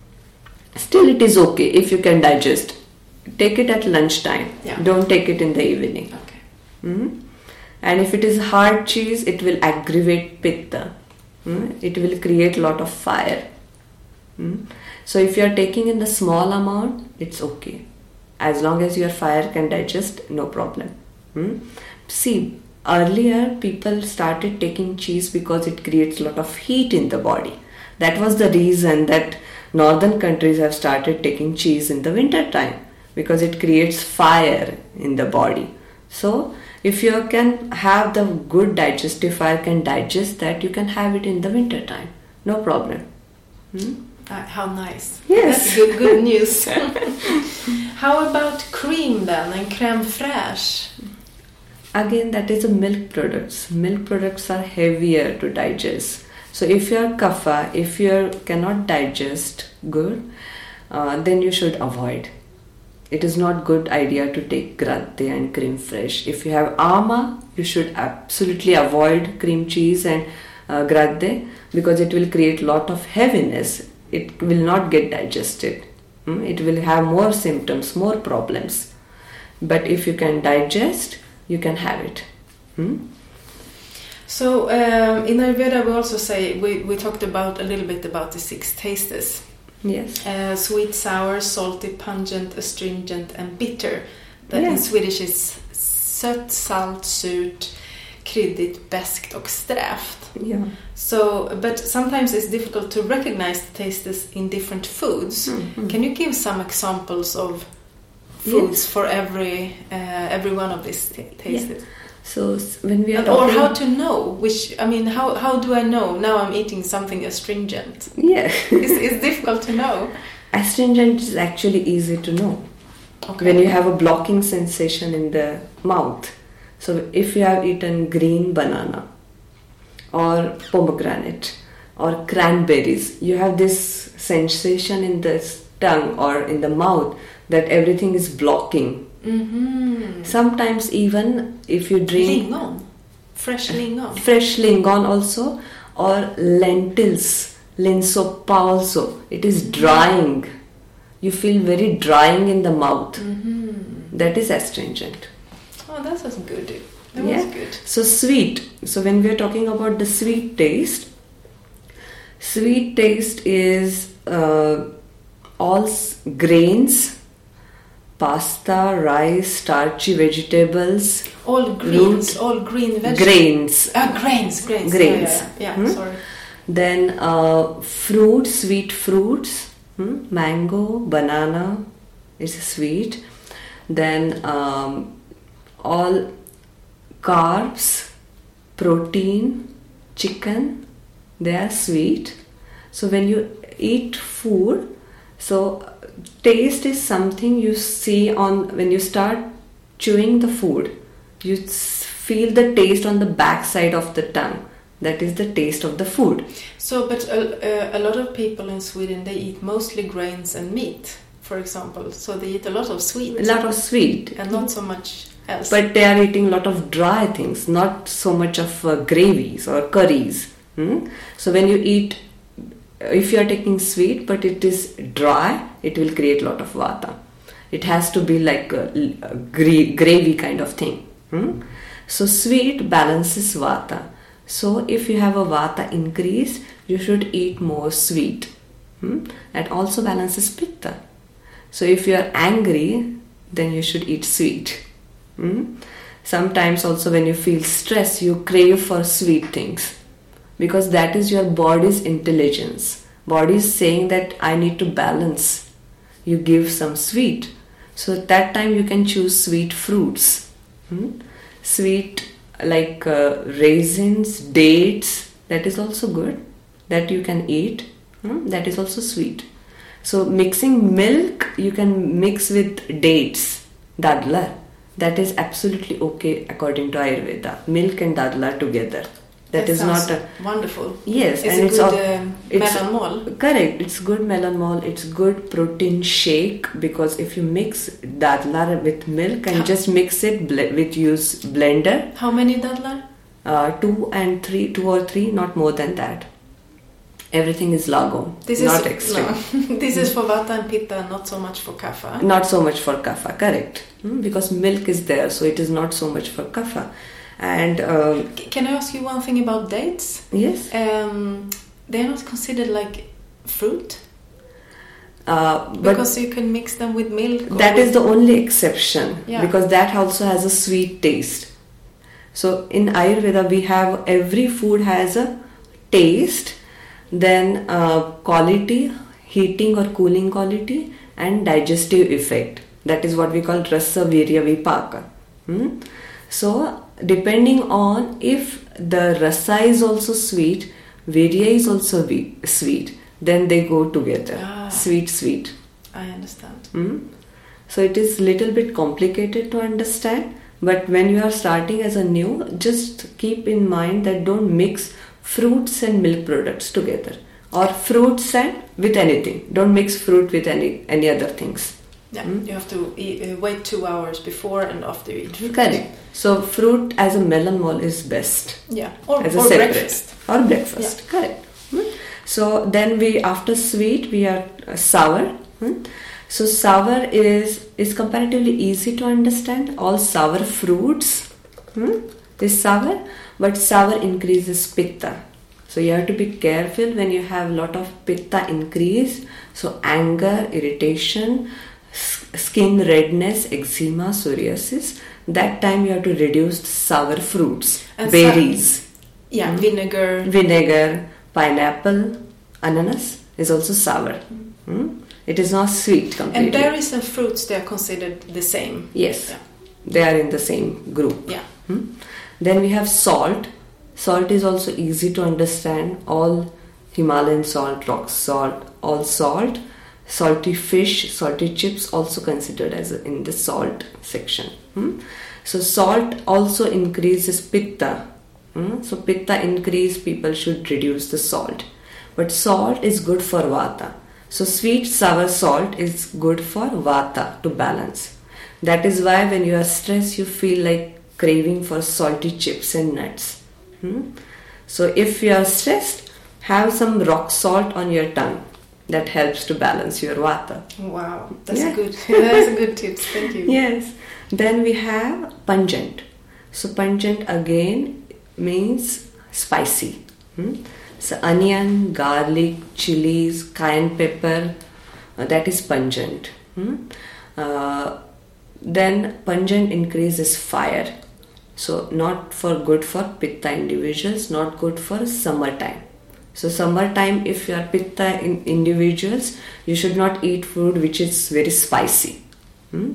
still it is okay if you can digest. Take it at lunchtime. Yeah. Don't take it in the evening. okay. Hmm? And if it is hard cheese, it will aggravate pitta. Hmm? It will create lot of fire. Hmm? So if you are taking in the small amount, it's okay. As long as your fire can digest, no problem. Hmm? See, earlier people started taking cheese because it creates lot of heat in the body. That was the reason that northern countries have started taking cheese in the winter time because it creates fire in the body. So if you can have the good digestive fire, can digest that, you can have it in the winter time. No problem. Hmm? Uh, how nice. Yes. That's good, good news. How about cream then and crème fraîche? Again, that is a milk products. Milk products are heavier to digest. So if you are kapha, if you cannot digest good, uh, then you should avoid. It is not good idea to take gradde and cream fresh. If you have ama, you should absolutely avoid cream cheese and uh, gradde because it will create lot of heaviness. It will not get digested. Hmm? It will have more symptoms, more problems. But if you can digest, you can have it. Hmm? So um, in Ayurveda we also say, we, we talked about a little bit about the six tastes. Yes. Uh, sweet, sour, salty, pungent, astringent and bitter. That Yeah. in Swedish is sött, salt, surt, kryddigt, beskt och strävt. Yeah. So, but sometimes it's difficult to recognize the tastes in different foods. Mhm. Can you give some examples of foods Yes. for every uh, every one of these t- tastes? Yeah. So s- when we are And, or talking, how to know which? I mean, how how do I know now I'm eating something astringent? yeah, it's, it's difficult to know. astringent is actually easy to know. Okay. When you have a blocking sensation in the mouth. So if you have eaten green banana or pomegranate or cranberries, you have this sensation in the tongue or in the mouth that everything is blocking. Mm-hmm. Sometimes even if you drink Lingon, fresh lingon. fresh lingon also, or lentils, linsoppa also, it is drying. You feel very drying in the mouth. Mm-hmm. That is astringent. Oh, that was good. That Yeah. was good. So sweet. So when we are talking about the sweet taste, sweet taste is uh, all s- grains, pasta, rice, starchy vegetables, All greens, all green vegetables. grains. Ah, grains, grains. Grains. Yeah, yeah, yeah. Hmm? Sorry. Then uh, fruits, sweet fruits, hmm? mango, banana is sweet. Then um, all carbs, protein, chicken, they are sweet. So when you eat food, so taste is something you see on when you start chewing the food. You s- feel the taste on the back side of the tongue. That is the taste of the food. So, but a, a, a lot of people in Sweden, they eat mostly grains and meat, for example. So they eat a lot of sweet. A lot of sweet. And not so much else. But they are eating a lot of dry things, not so much of uh, gravies or curries. Hmm? So when you eat, if you are taking sweet but it is dry, it will create a lot of vata. It has to be like a, a gra- gravy kind of thing. Hmm? So sweet balances vata. So if you have a vata increase, you should eat more sweet. Hmm? And also balances pitta. So if you are angry, then you should eat sweet. Hmm? Sometimes also when you feel stress, you crave for sweet things. Because that is your body's intelligence. Body is saying that I need to balance. You give some sweet. So at that time you can choose sweet fruits. Hmm? Sweet like uh, raisins, dates, that is also good. That you can eat. Hmm? That is also sweet. So mixing milk, you can mix with dates, dadla. That is absolutely okay according to Ayurveda. Milk and dadla together. That, that is not a wonderful. Yes, it's and a it's good a, um, it's melanmol. Correct. It's good melanmol. It's good protein shake because if you mix dadla with milk and How? just mix it ble- with use blender. How many dadlar? Uh, two and three, two or three, not more than that. Everything is lago, This not is extreme. No. This is for vata and pitta, not so much for kapha. Not so much for kapha, correct? Hmm? Because milk is there, so it is not so much for kapha. And um, C- Can I ask you one thing about dates? yes, Um, they're not considered like fruit uh, but because you can mix them with milk. or that with- is the only exception Yeah. because that also has a sweet taste. So in Ayurveda, we have every food has a taste, then uh, quality, heating or cooling quality, and digestive effect. That is what we call rasa, virya, vipaka. Hmm? So depending on if the rasa is also sweet, virya is also vi- sweet, then they go together. Ah. Sweet, sweet. I understand. Hmm? So it is little bit complicated to understand, but when you are starting as a new, just keep in mind that don't mix fruits and milk products together, or fruits and with anything. Don't mix fruit with any any other things. Yeah, mm? You have to eat, uh, wait two hours before and after you eat fruit. Correct. So fruit as a melanmol is best. Yeah, or, as a or separate. breakfast. Or breakfast. Yeah. Correct. Hmm? So then we, after sweet, we are uh, sour. Hmm? So sour is is comparatively easy to understand. All sour fruits hmm, is sour, but sour increases pitta. So you have to be careful when you have a lot of pitta increase. So anger, irritation, skin redness, eczema, psoriasis. That time you have to reduce sour fruits, and berries. Sa- yeah, mm. vinegar. Vinegar, pineapple, ananas is also sour. Mm. It is not sweet completely. And berries and fruits, they are considered the same. Yes, yeah. They are in the same group. Yeah. Mm. Then we have salt. Salt is also easy to understand. All Himalayan salt, rock salt, all salt. Salty fish, salty chips also considered as a, in the salt section. Hmm? So salt also increases pitta. Hmm? So pitta increase, people should reduce the salt. But salt is good for vata. So sweet sour salt is good for vata, to balance. That is why when you are stressed, you feel like craving for salty chips and nuts. Hmm? So if you are stressed, have some rock salt on your tongue. That helps to balance your vata. Wow, that's yeah. good. That's a good tips. Thank you. Yes. Then we have pungent. So pungent again means spicy. Hmm? So onion, garlic, chilies, cayenne pepper, uh, that is pungent. Hmm? Uh, then pungent increases fire. So not for good for pitta individuals, not good for summertime. So summertime, if you are pitta in individuals, you should not eat food which is very spicy. Hmm?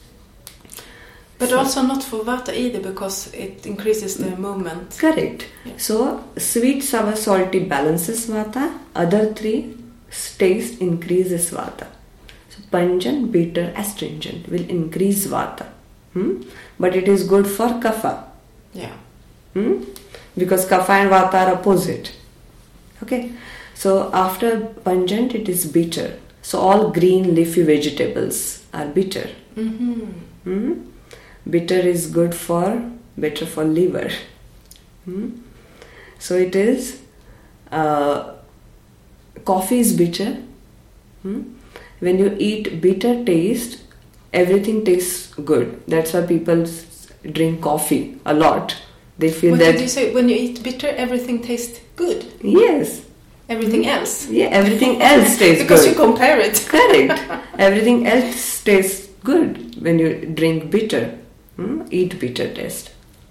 But so, also not for vata either, because it increases the movement. Correct. Yeah. So sweet, sour, salty balances vata. Other three, taste increases vata. So pungent, bitter, astringent will increase vata. Hmm? But it is good for kapha. Yeah. Hmm? Because kapha and vata are opposite. Okay, so after pungent, it is bitter. So all green leafy vegetables are bitter. Mm-hmm. Mm-hmm. Bitter is good for, better for liver. Mm-hmm. So it is, uh, coffee is bitter. Mm-hmm. When you eat bitter taste, everything tastes good. That's why people drink coffee a lot. They feel what that. What did you say? When you eat bitter, everything tastes good? Yes. Everything else? Yeah, everything else tastes because good. Because you compare it. Correct. Everything else tastes good when you drink bitter. Hmm? Eat bitter taste.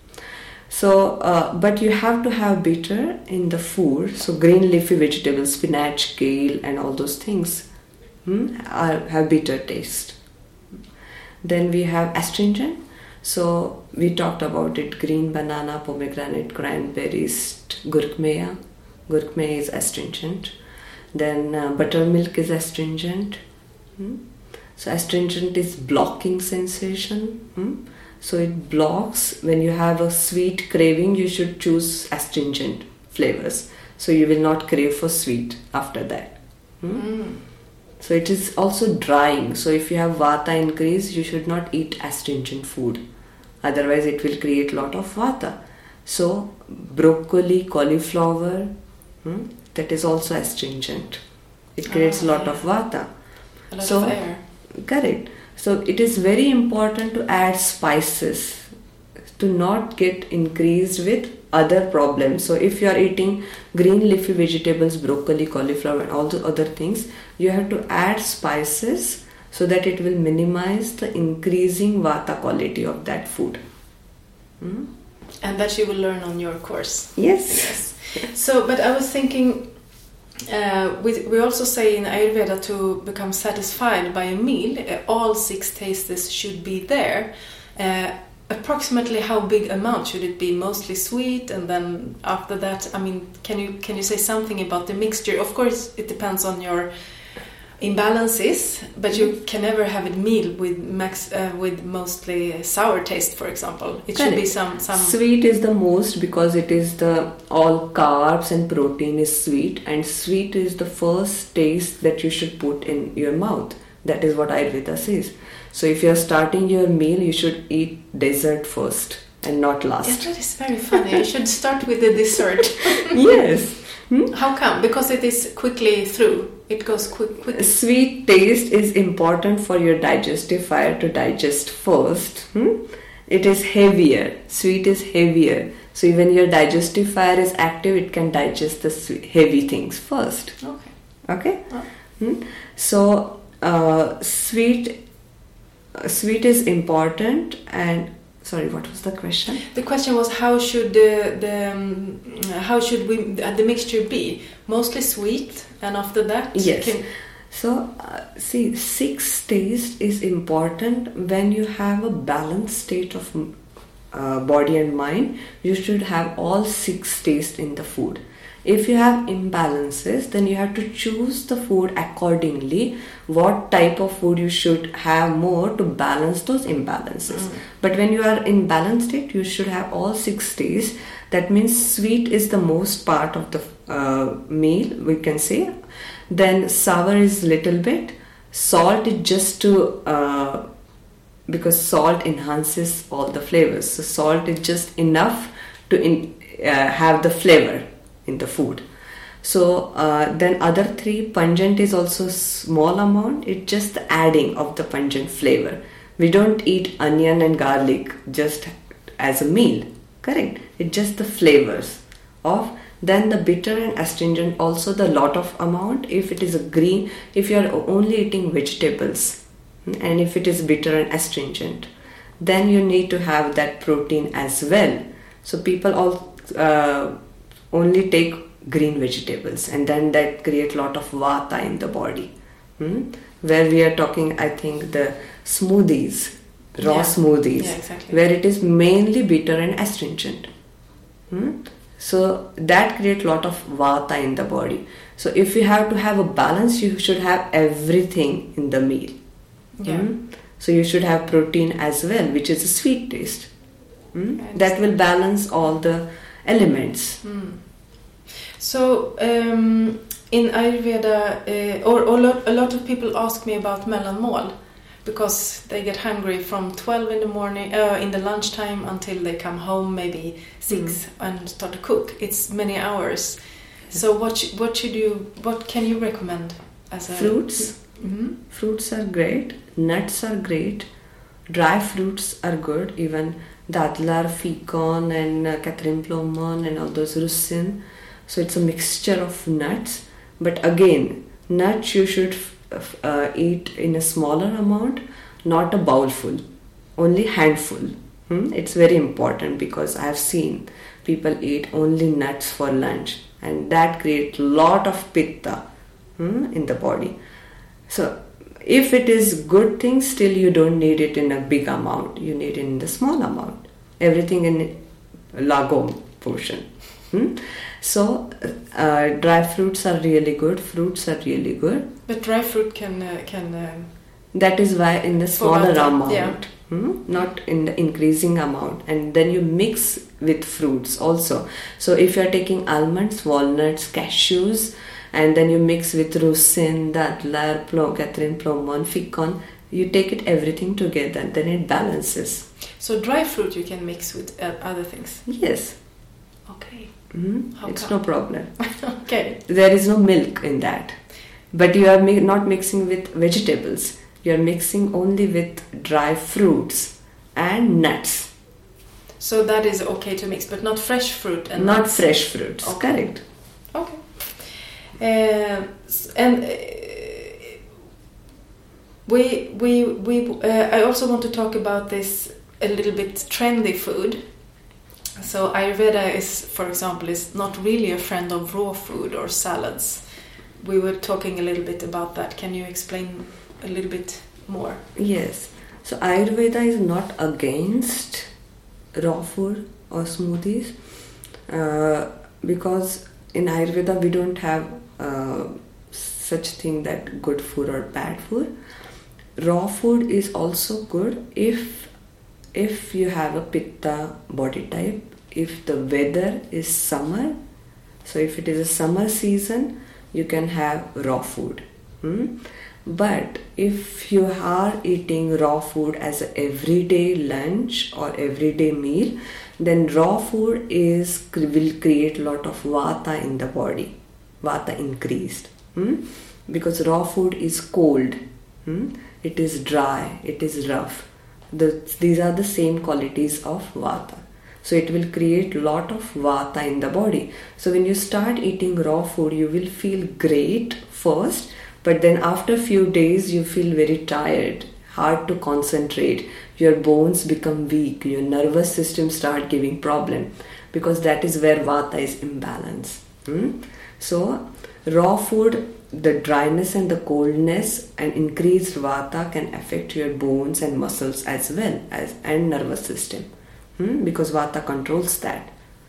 So, uh, but you have to have bitter in the food. So green leafy vegetables, spinach, kale and all those things hmm, are, have bitter taste. Then we have astringent. So we talked about it, green banana, pomegranate, cranberries, gurkmeya. Gurkmeya is astringent. Then uh, buttermilk is astringent. Hmm? So astringent is blocking sensation. Hmm? So it blocks. When you have a sweet craving, you should choose astringent flavors. So you will not crave for sweet after that. Hmm? Mm. So it is also drying. So if you have vata increase, you should not eat astringent food. Otherwise it will create lot of vata. So broccoli, cauliflower, hmm, that is also astringent. It creates a oh, lot yeah. of vata. A lot so, of air. Correct. So it is very important to add spices to not get increased with other problems. So if you are eating green leafy vegetables, broccoli, cauliflower and all the other things, you have to add spices so that it will minimize the increasing vata quality of that food. Hmm? And that you will learn on your course. Yes. Yes. So, but I was thinking, uh, we, we also say in Ayurveda to become satisfied by a meal, uh, all six tastes should be there. Uh, approximately how big amount should it be? Mostly sweet, and then after that, I mean, can you can you say something about the mixture? Of course, it depends on your imbalances, but you can never have a meal with max uh, with mostly sour taste, for example. It should be some some sweet is the most, because it is the all carbs and protein is sweet, and sweet is the first taste that you should put in your mouth. That is what Ayurveda says. So if you are starting your meal, you should eat dessert first and not last. Yeah, that is very funny. You should start with the dessert. Yes. Hmm? How come? Because it is quickly through. It goes quick. quick. Sweet taste is important for your digestive fire to digest first. Hmm? It is heavier. Sweet is heavier. So when your digestive fire is active, it can digest the sweet, heavy things first. Okay. Okay. Oh. Hmm? So uh, sweet. Uh, sweet is important. And sorry, what was the question? The question was how should the the um, how should we uh, the mixture be? Mostly sweet, and after that, yes. Can... So uh, see, six taste is important when you have a balanced state of uh, body and mind. You should have all six taste in the food. If you have imbalances, then you have to choose the food accordingly. What type of food you should have more to balance those imbalances. Mm. But when you are in balanced state, you should have all six tastes. That means sweet is the most part of the uh, meal, we can say. Then sour is little bit. Salt is just to uh, because salt enhances all the flavors. So salt is just enough to in, uh, have the flavor in the food. So uh, then other three, pungent is also small amount. It's just the adding of the pungent flavor. We don't eat onion and garlic just as a meal, correct? It's just the flavors of. Then the bitter and astringent, also the lot of amount. If it is a green, if you are only eating vegetables, and if it is bitter and astringent, then you need to have that protein as well. So people all uh, only take green vegetables, and then that create lot of vata in the body. Hmm? Where we are talking, I think the smoothies, raw yeah. smoothies, yeah, exactly. where it is mainly bitter and astringent. Hmm? So that create lot of vata in the body. So if you have to have a balance, you should have everything in the meal. Yeah. Hmm? So you should have protein as well, which is a sweet taste. Hmm? That will balance all the elements. Mm. So um, in Ayurveda, uh, or, or lot, a lot of people ask me about mellanmål, because they get hungry from twelve in the morning, uh, in the lunchtime until they come home, maybe six, mm. and start to cook. It's many hours. So what sh- what should you what can you recommend as a fruits? Mm-hmm. Fruits are great. Nuts are great. Dry fruits are good. Even dadlar, ficon, and uh, Catherine Plomon, and all those russin. So it's a mixture of nuts. But again, nuts you should uh, eat in a smaller amount, not a bowlful, only handful. Hmm? It's very important, because I have seen people eat only nuts for lunch, and that creates a lot of pitta hmm, in the body. So if it is good thing, still you don't need it in a big amount. You need it in the small amount. Everything in lagom portion. Hmm? So uh, dry fruits are really good. Fruits are really good. But dry fruit can uh, can. Uh, that is why in the smaller amount, yeah. hmm? not in the increasing amount. And then you mix with fruits also. So if you are taking almonds, walnuts, cashews, and then you mix with russin, dadlar, plo, Catherine Plomon, ficon, you take it everything together, then it balances. So dry fruit you can mix with uh, other things? Yes. Okay. Mm-hmm. It's come? no problem. Okay. There is no milk in that. But you are mi- not mixing with vegetables. You are mixing only with dry fruits and nuts. So that is okay to mix, but not fresh fruit and Not nuts. fresh fruits. Okay. Correct. Okay. Uh, and uh, we we we. Uh, I also want to talk about this a little bit trendy food. So Ayurveda is, for example, is not really a friend of raw food or salads. we were talking a little bit about that. Can you explain a little bit more? Yes. So Ayurveda is not against raw food or smoothies, uh, because in Ayurveda we don't have uh, such thing that good food or bad food. Raw food is also good if if you have a pitta body type, if the weather is summer. So if it is a summer season, you can have raw food. Hmm? But if you are eating raw food as an everyday lunch or everyday meal, then raw food is will create a lot of vata in the body. Vata increased. Hmm? Because raw food is cold. Hmm? It is dry. It is rough. The, these are the same qualities of vata. So it will create lot of vata in the body. So when you start eating raw food, you will feel great first, but then after few days you feel very tired, hard to concentrate, your bones become weak, your nervous system start giving problem, because that is where vata is imbalanced. Hmm? So raw food, the dryness and the coldness and increased vata can affect your bones and muscles as well as and nervous system. Hmm? Because vata controls that.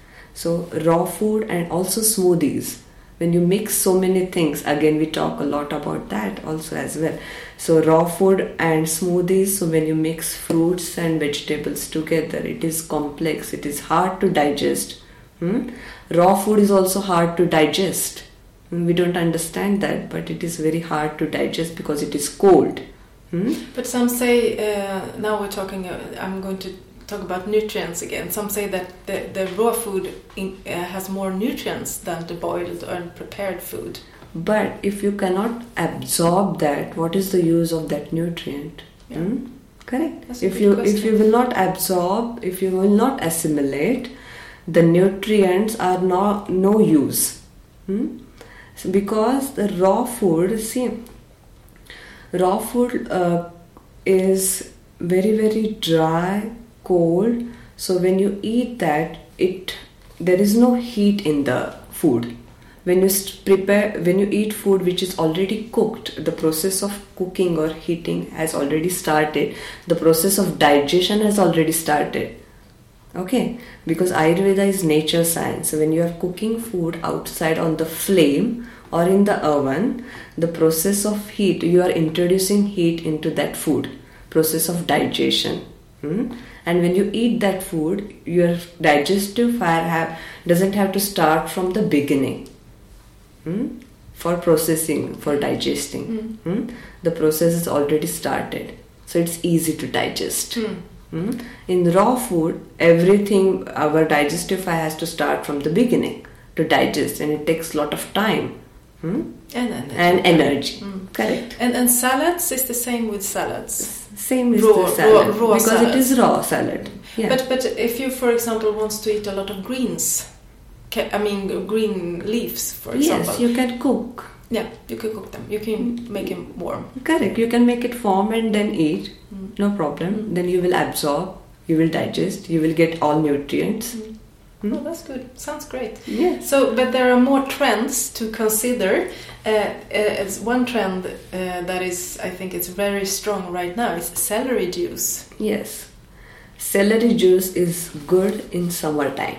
So raw food and also smoothies. When you mix so many things, again we talk a lot about that also as well. So raw food and smoothies, so when you mix fruits and vegetables together, it is complex, it is hard to digest. Hmm? Raw food is also hard to digest. We don't understand that, but it is very hard to digest because it is cold. Hmm? But some say, uh, now we're talking, uh, I'm going to talk about nutrients again. Some say that the, the raw food in, uh, has more nutrients than the boiled or prepared food. But if you cannot absorb that, what is the use of that nutrient? Yeah. Hmm? Correct. That's a If good you question. if you will not absorb, if you will not assimilate, the nutrients are no no use. Hmm? So because the raw food, see, raw food uh, is very very dry, cold. So when you eat that, it there is no heat in the food. When you st- prepare, when you eat food which is already cooked, the process of cooking or heating has already started. The process of digestion has already started. Okay, because Ayurveda is nature science. So when you are cooking food outside on the flame or in the oven, the process of heat, you are introducing heat into that food. Process of digestion. Hmm? And when you eat that food, your digestive fire have, doesn't have to start from the beginning. Hmm? For processing, for digesting. Mm. Hmm? The process is already started. So it's easy to digest. Mm. Hmm? In raw food, everything, our digestive fire has to start from the beginning to digest, and it takes a lot of time. Hmm? And energy. And energy. Mm. Correct. And, and salads is the same with salads. Same as Raw- the salad. raw- raw because salad. it is raw salad. Yeah. But but if you, for example, wants to eat a lot of greens, ca- I mean green leaves, for example. Yes, you can cook. Yeah, you can cook them. You can make them warm. Correct. You can make it warm and then eat. Mm. No problem. Mm. Then you will absorb, you will digest, you will get all nutrients. Mm. Mm. Oh, that's good. Sounds great. Yes. So, but there are more trends to consider. Uh, uh, as one trend uh, that is, I think, it's very strong right now is celery juice. Yes. Celery juice is good in summertime,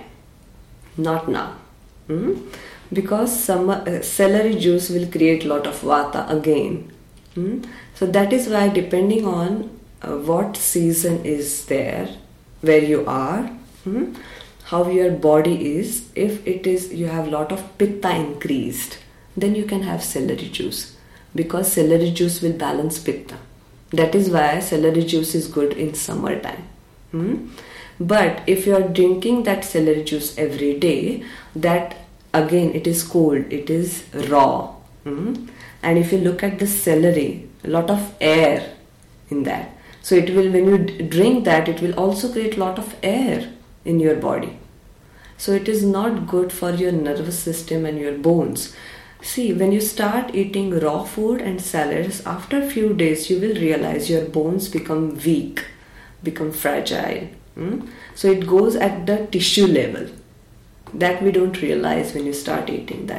not now. Hmm? Because summer, uh, celery juice will create a lot of vata again. Hmm? So that is why, depending on uh, what season is there, where you are, hmm? how your body is, if it is, you have a lot of pitta increased, then you can have celery juice, because celery juice will balance pitta. That is why celery juice is good in summertime. Hmm? But if you are drinking that celery juice every day, that again it is cold, it is raw. Hmm? And if you look at the celery, a lot of air in that. So it will, when you d- drink that, it will also create a lot of air in your body. So it is not good for your nervous system and your bones. See, when you start eating raw food and salads, after a few days you will realize your bones become weak, become fragile. Hmm? So it goes at the tissue level. That we don't realize when you start eating that.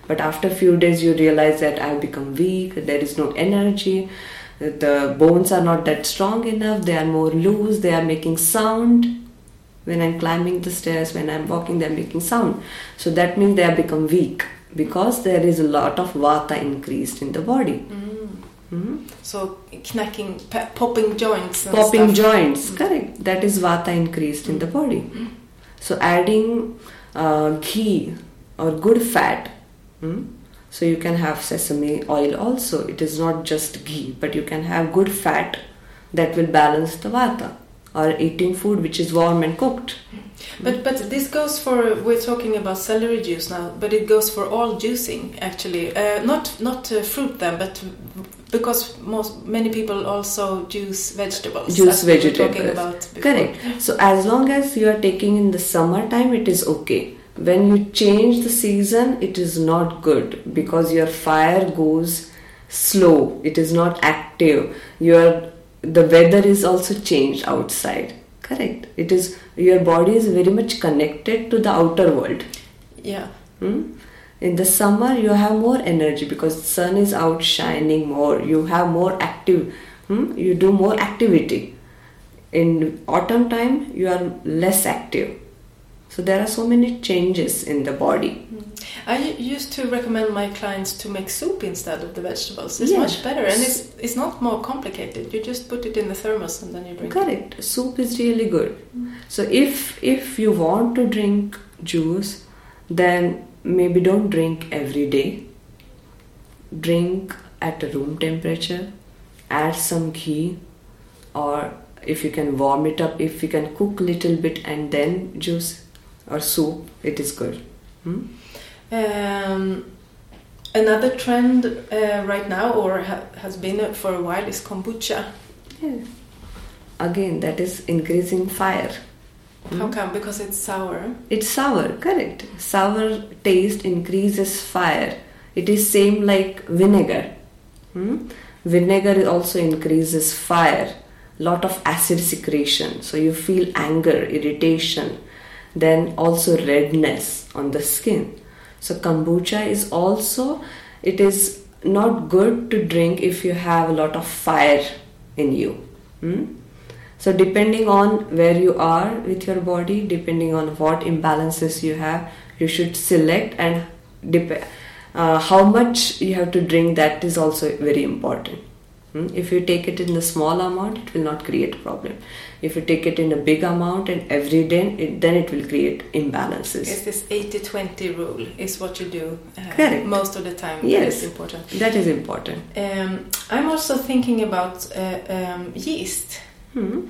But after a few days you realize that I've become weak, there is no energy, the bones are not that strong enough, they are more loose, they are making sound. When I'm climbing the stairs, when I'm walking, they're making sound. So that means they have become weak because there is a lot of vata increased in the body. Mm. Mm-hmm. So knacking, pe- popping joints and Popping stuff. joints, Mm. correct. That is vata increased mm. in the body. Mm. So adding uh, ghee or good fat. Mm? So you can have sesame oil also. It is not just ghee, but you can have good fat that will balance the vata. Or eating food which is warm and cooked. But but this goes for, we're talking about celery juice now, but it goes for all juicing actually. Uh, not not uh, fruit then, but because most many people also juice vegetables. Juice we were vegetables. Talking about before. Correct. So as long as you are taking in the summertime, it is okay. When you change the season, it is not good because your fire goes slow. It is not active. Your the weather is also changed outside. Correct. It is, your body is very much connected to the outer world. Yeah. Hmm? In the summer you have more energy because the sun is out shining more. You have more active. Hmm? You do more activity. In autumn time you are less active. So there are so many changes in the body. I used to recommend my clients to make soup instead of the vegetables. It's Yeah. much better and it's it's not more complicated. You just put it in the thermos and then you drink Correct. it. Soup is really good. Mm. So if if you want to drink juice, then maybe don't drink every day. Drink at a room temperature. Add some ghee, or if you can warm it up, if you can cook little bit and then juice or soup, it is good. Hmm? Um, another trend uh, right now, or ha- has been for a while, is kombucha. Yeah. Again, that is increasing fire. How Hmm? come? Because it's sour. It's sour, correct. Sour taste increases fire. It is same like vinegar. Hmm? Vinegar also increases fire. Lot of acid secretion. So you feel anger, irritation. Then also redness on the skin. So kombucha is also, it is not good to drink if you have a lot of fire in you. Hmm? So depending on where you are with your body, depending on what imbalances you have, you should select and dep- uh, how much you have to drink. That is also very important. Hmm? If you take it in a small amount, it will not create a problem. If you take it in a big amount and every day, it, then it will create imbalances. It's this eighty twenty rule is what you do uh, Correct. most of the time. Yes. That is important. That is important. Um, I'm also thinking about uh, um, yeast. Hmm.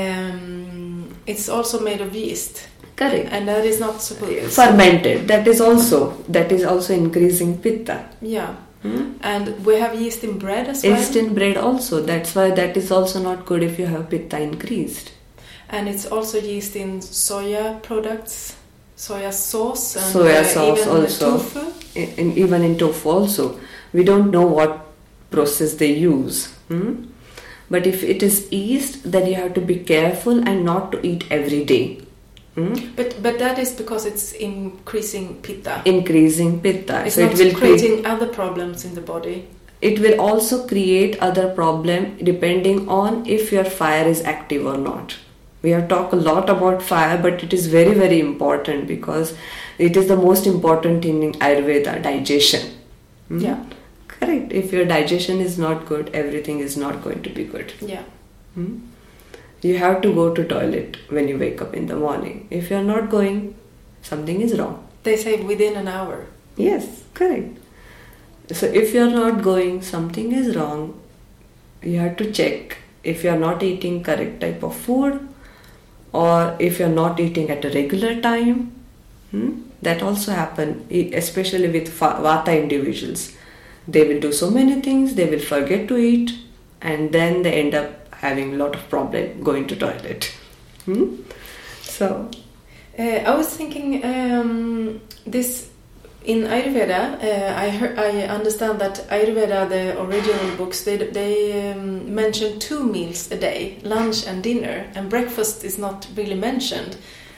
Um, it's also made of yeast. Correct. And that is not supposed Fermented. That is also that is also increasing pitta. Yeah. Hmm? And we have yeast in bread as well. Yeast in bread also. That's why that is also not good if you have pitta increased. And it's also yeast in soya products, soya sauce, and Soya uh, sauce even also. tofu. In, in, even in tofu also. We don't know what process they use. Hmm? But if it is yeast, then you have to be careful and not to eat every day. Hmm? But but that is because it's increasing pitta. Increasing pitta. It's so not it will creating create, other problems in the body. it will also create other problem depending on if your fire is active or not. We have talked a lot about fire, but it is very very important because it is the most important thing in Ayurveda, digestion. Hmm? Yeah. Correct. If your digestion is not good, everything is not going to be good. Yeah. Hmm? You have to go to toilet when you wake up in the morning. If you are not going, something is wrong. They say within an hour. Yes, correct. So if you are not going, something is wrong. You have to check if you are not eating correct type of food, or if you are not eating at a regular time. Hmm? That also happen, especially with Vata individuals. They will do so many things, they will forget to eat, and then they end up having a lot of problem going to toilet. Hmm? So, uh, I was thinking um, this in Ayurveda. Uh, I heard, I understand that Ayurveda, the original books, they they um, mention two meals a day, lunch and dinner, and breakfast is not really mentioned.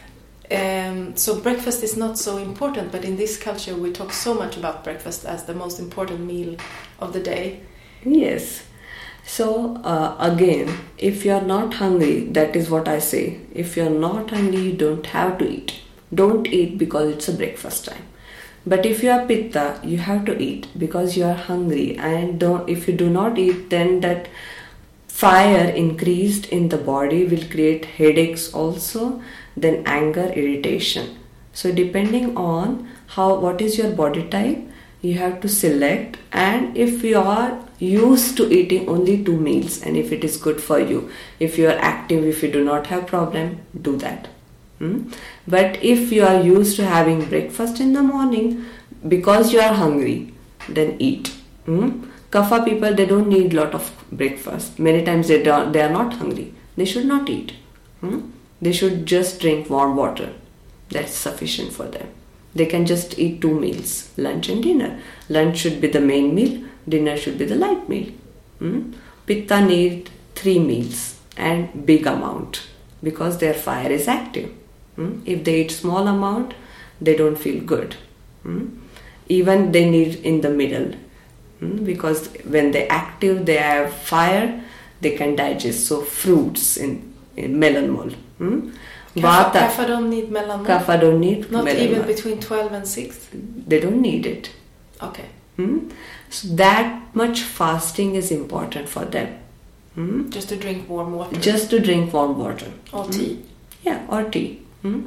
Um, so breakfast is not so important, but in this culture we talk so much about breakfast as the most important meal of the day. Yes. So uh, again, if you are not hungry, that is what I say. If you are not hungry, you don't have to eat. Don't eat because it's a breakfast time. But if you are pitta, you have to eat because you are hungry. And don't. If you do not eat, then that fire increased in the body will create headaches also, then anger, irritation. So depending on how what is your body type, you have to select. And if you are used to eating only two meals, and if it is good for you, if you are active, if you do not have problem, do that. Hmm? But if you are used to having breakfast in the morning because you are hungry, then eat. Hmm? Kapha people, they don't need lot of breakfast. Many times they don't, they are not hungry. They should not eat. Hmm? They should just drink warm water. That's sufficient for them. They can just eat two meals, lunch and dinner. Lunch should be the main meal. Dinner should be the light meal. Hmm? Pitta need three meals and big amount because their fire is active. Hmm? If they eat small amount, they don't feel good. Hmm? Even they need in the middle. Hmm? Because when they active, they have fire, they can digest. So fruits in, in mellanmål. Hmm? Kapha, kapha don't need mellanmål? Kapha don't need Not mellanmål. even between twelve and six? They don't need it. Okay. Hmm? So that much fasting is important for them. Hmm? Just to drink warm water? Just to drink warm water. Or Hmm? tea? Yeah, or tea. Hmm?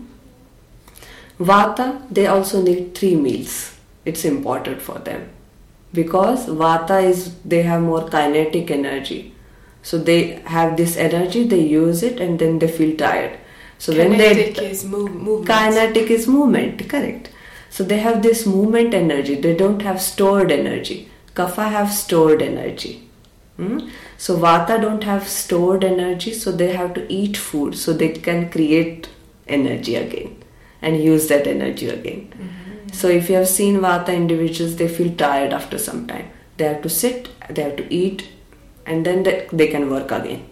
Vata, they also need three meals. It's important for them. Because Vata is, they have more kinetic energy. So they have this energy, they use it and then they feel tired. So kinetic when they, is move, movement. Kinetic is movement, correct. So they have this movement energy. They don't have stored energy. Kapha have stored energy. Hmm? So Vata don't have stored energy, so they have to eat food so they can create energy again and use that energy again. Mm-hmm. So if you have seen Vata individuals, they feel tired after some time. They have to sit, they have to eat, and then they, they can work again.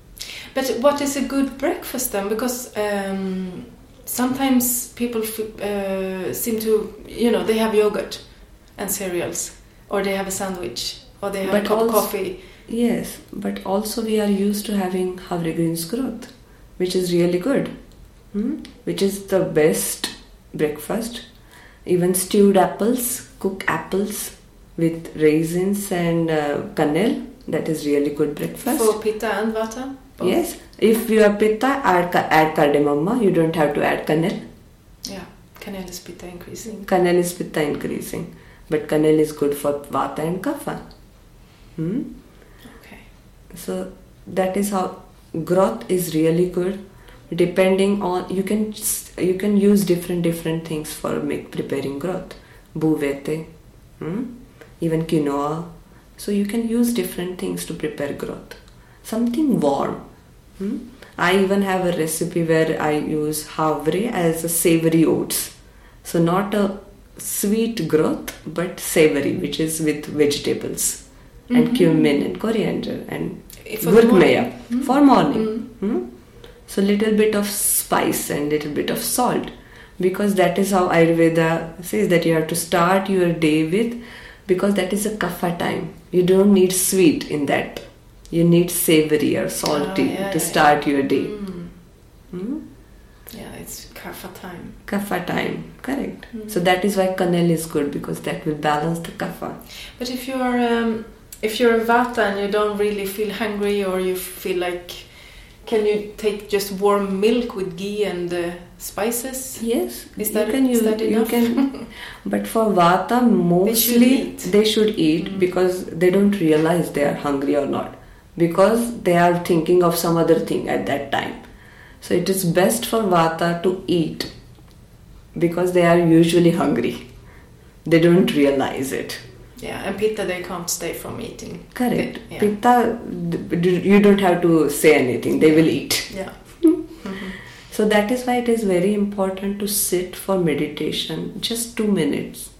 But what is a good breakfast then? Because um, sometimes people f- uh, seem to, you know, they have yogurt and cereals, or they have a sandwich, or they have but a cup also, of coffee. Yes, but also we are used to having havre greens growth, which is really good, hmm? which is the best breakfast. Even stewed apples, cooked apples with raisins and uh, kannel, that is really good breakfast. For Pitta and Vata? Both. Yes, if you are Pitta, add, add cardamom, you don't have to add kannel. Yeah, kannel is Pitta increasing. Kannel is Pitta increasing, but kannel is good for Vata and Kapha. Hmm? Okay. So that is how growth is really good. Depending on, you can you can use different different things for make preparing growth. Buvete, hmm? even quinoa. So you can use different things to prepare growth. Something warm. Hmm? I even have a recipe where I use havre as a savory oats. So not a sweet growth, but savory, which is with vegetables mm-hmm. and cumin and coriander and gurkmeya mm-hmm. for morning. Mm-hmm. Hmm? So little bit of spice and little bit of salt, because that is how Ayurveda says that you have to start your day with, because that is a kapha time. You don't need sweet in that. You need savory or salty oh, yeah, to start yeah. your day. Mm. Hmm? Yeah, it's kapha time. Kapha time, correct. Mm. So that is why kannel is good, because that will balance the kapha. But if you're um, if you're a Vata and you don't really feel hungry, or you feel like, can you take just warm milk with ghee and uh, spices? Yes, is that, you can is use, that enough? You can, but for Vata, mostly they should eat, they should eat mm. because they don't realize they are hungry or not, because they are thinking of some other thing at that time. So it is best for Vata to eat because they are usually hungry. They don't realize it. Yeah, and Pitta, they can't stay from eating. Correct. They, yeah. Pitta, you don't have to say anything. They will eat. Yeah. mm-hmm. So that is why it is very important to sit for meditation, just two minutes.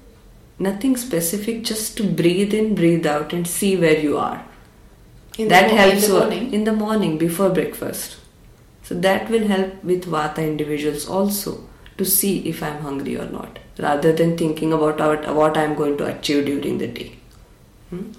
Nothing specific, just to breathe in, breathe out and see where you are. In that the, helps in the morning? In the morning, before breakfast. So that will help with Vata individuals also to see if I'm hungry or not, rather than thinking about what I'm going to achieve during the day. Hmm?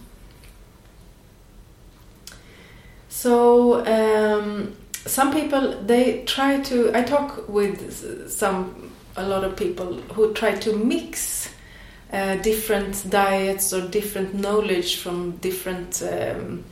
So um, some people, they try to, I talk with some, a lot of people who try to mix uh, different diets or different knowledge from different um,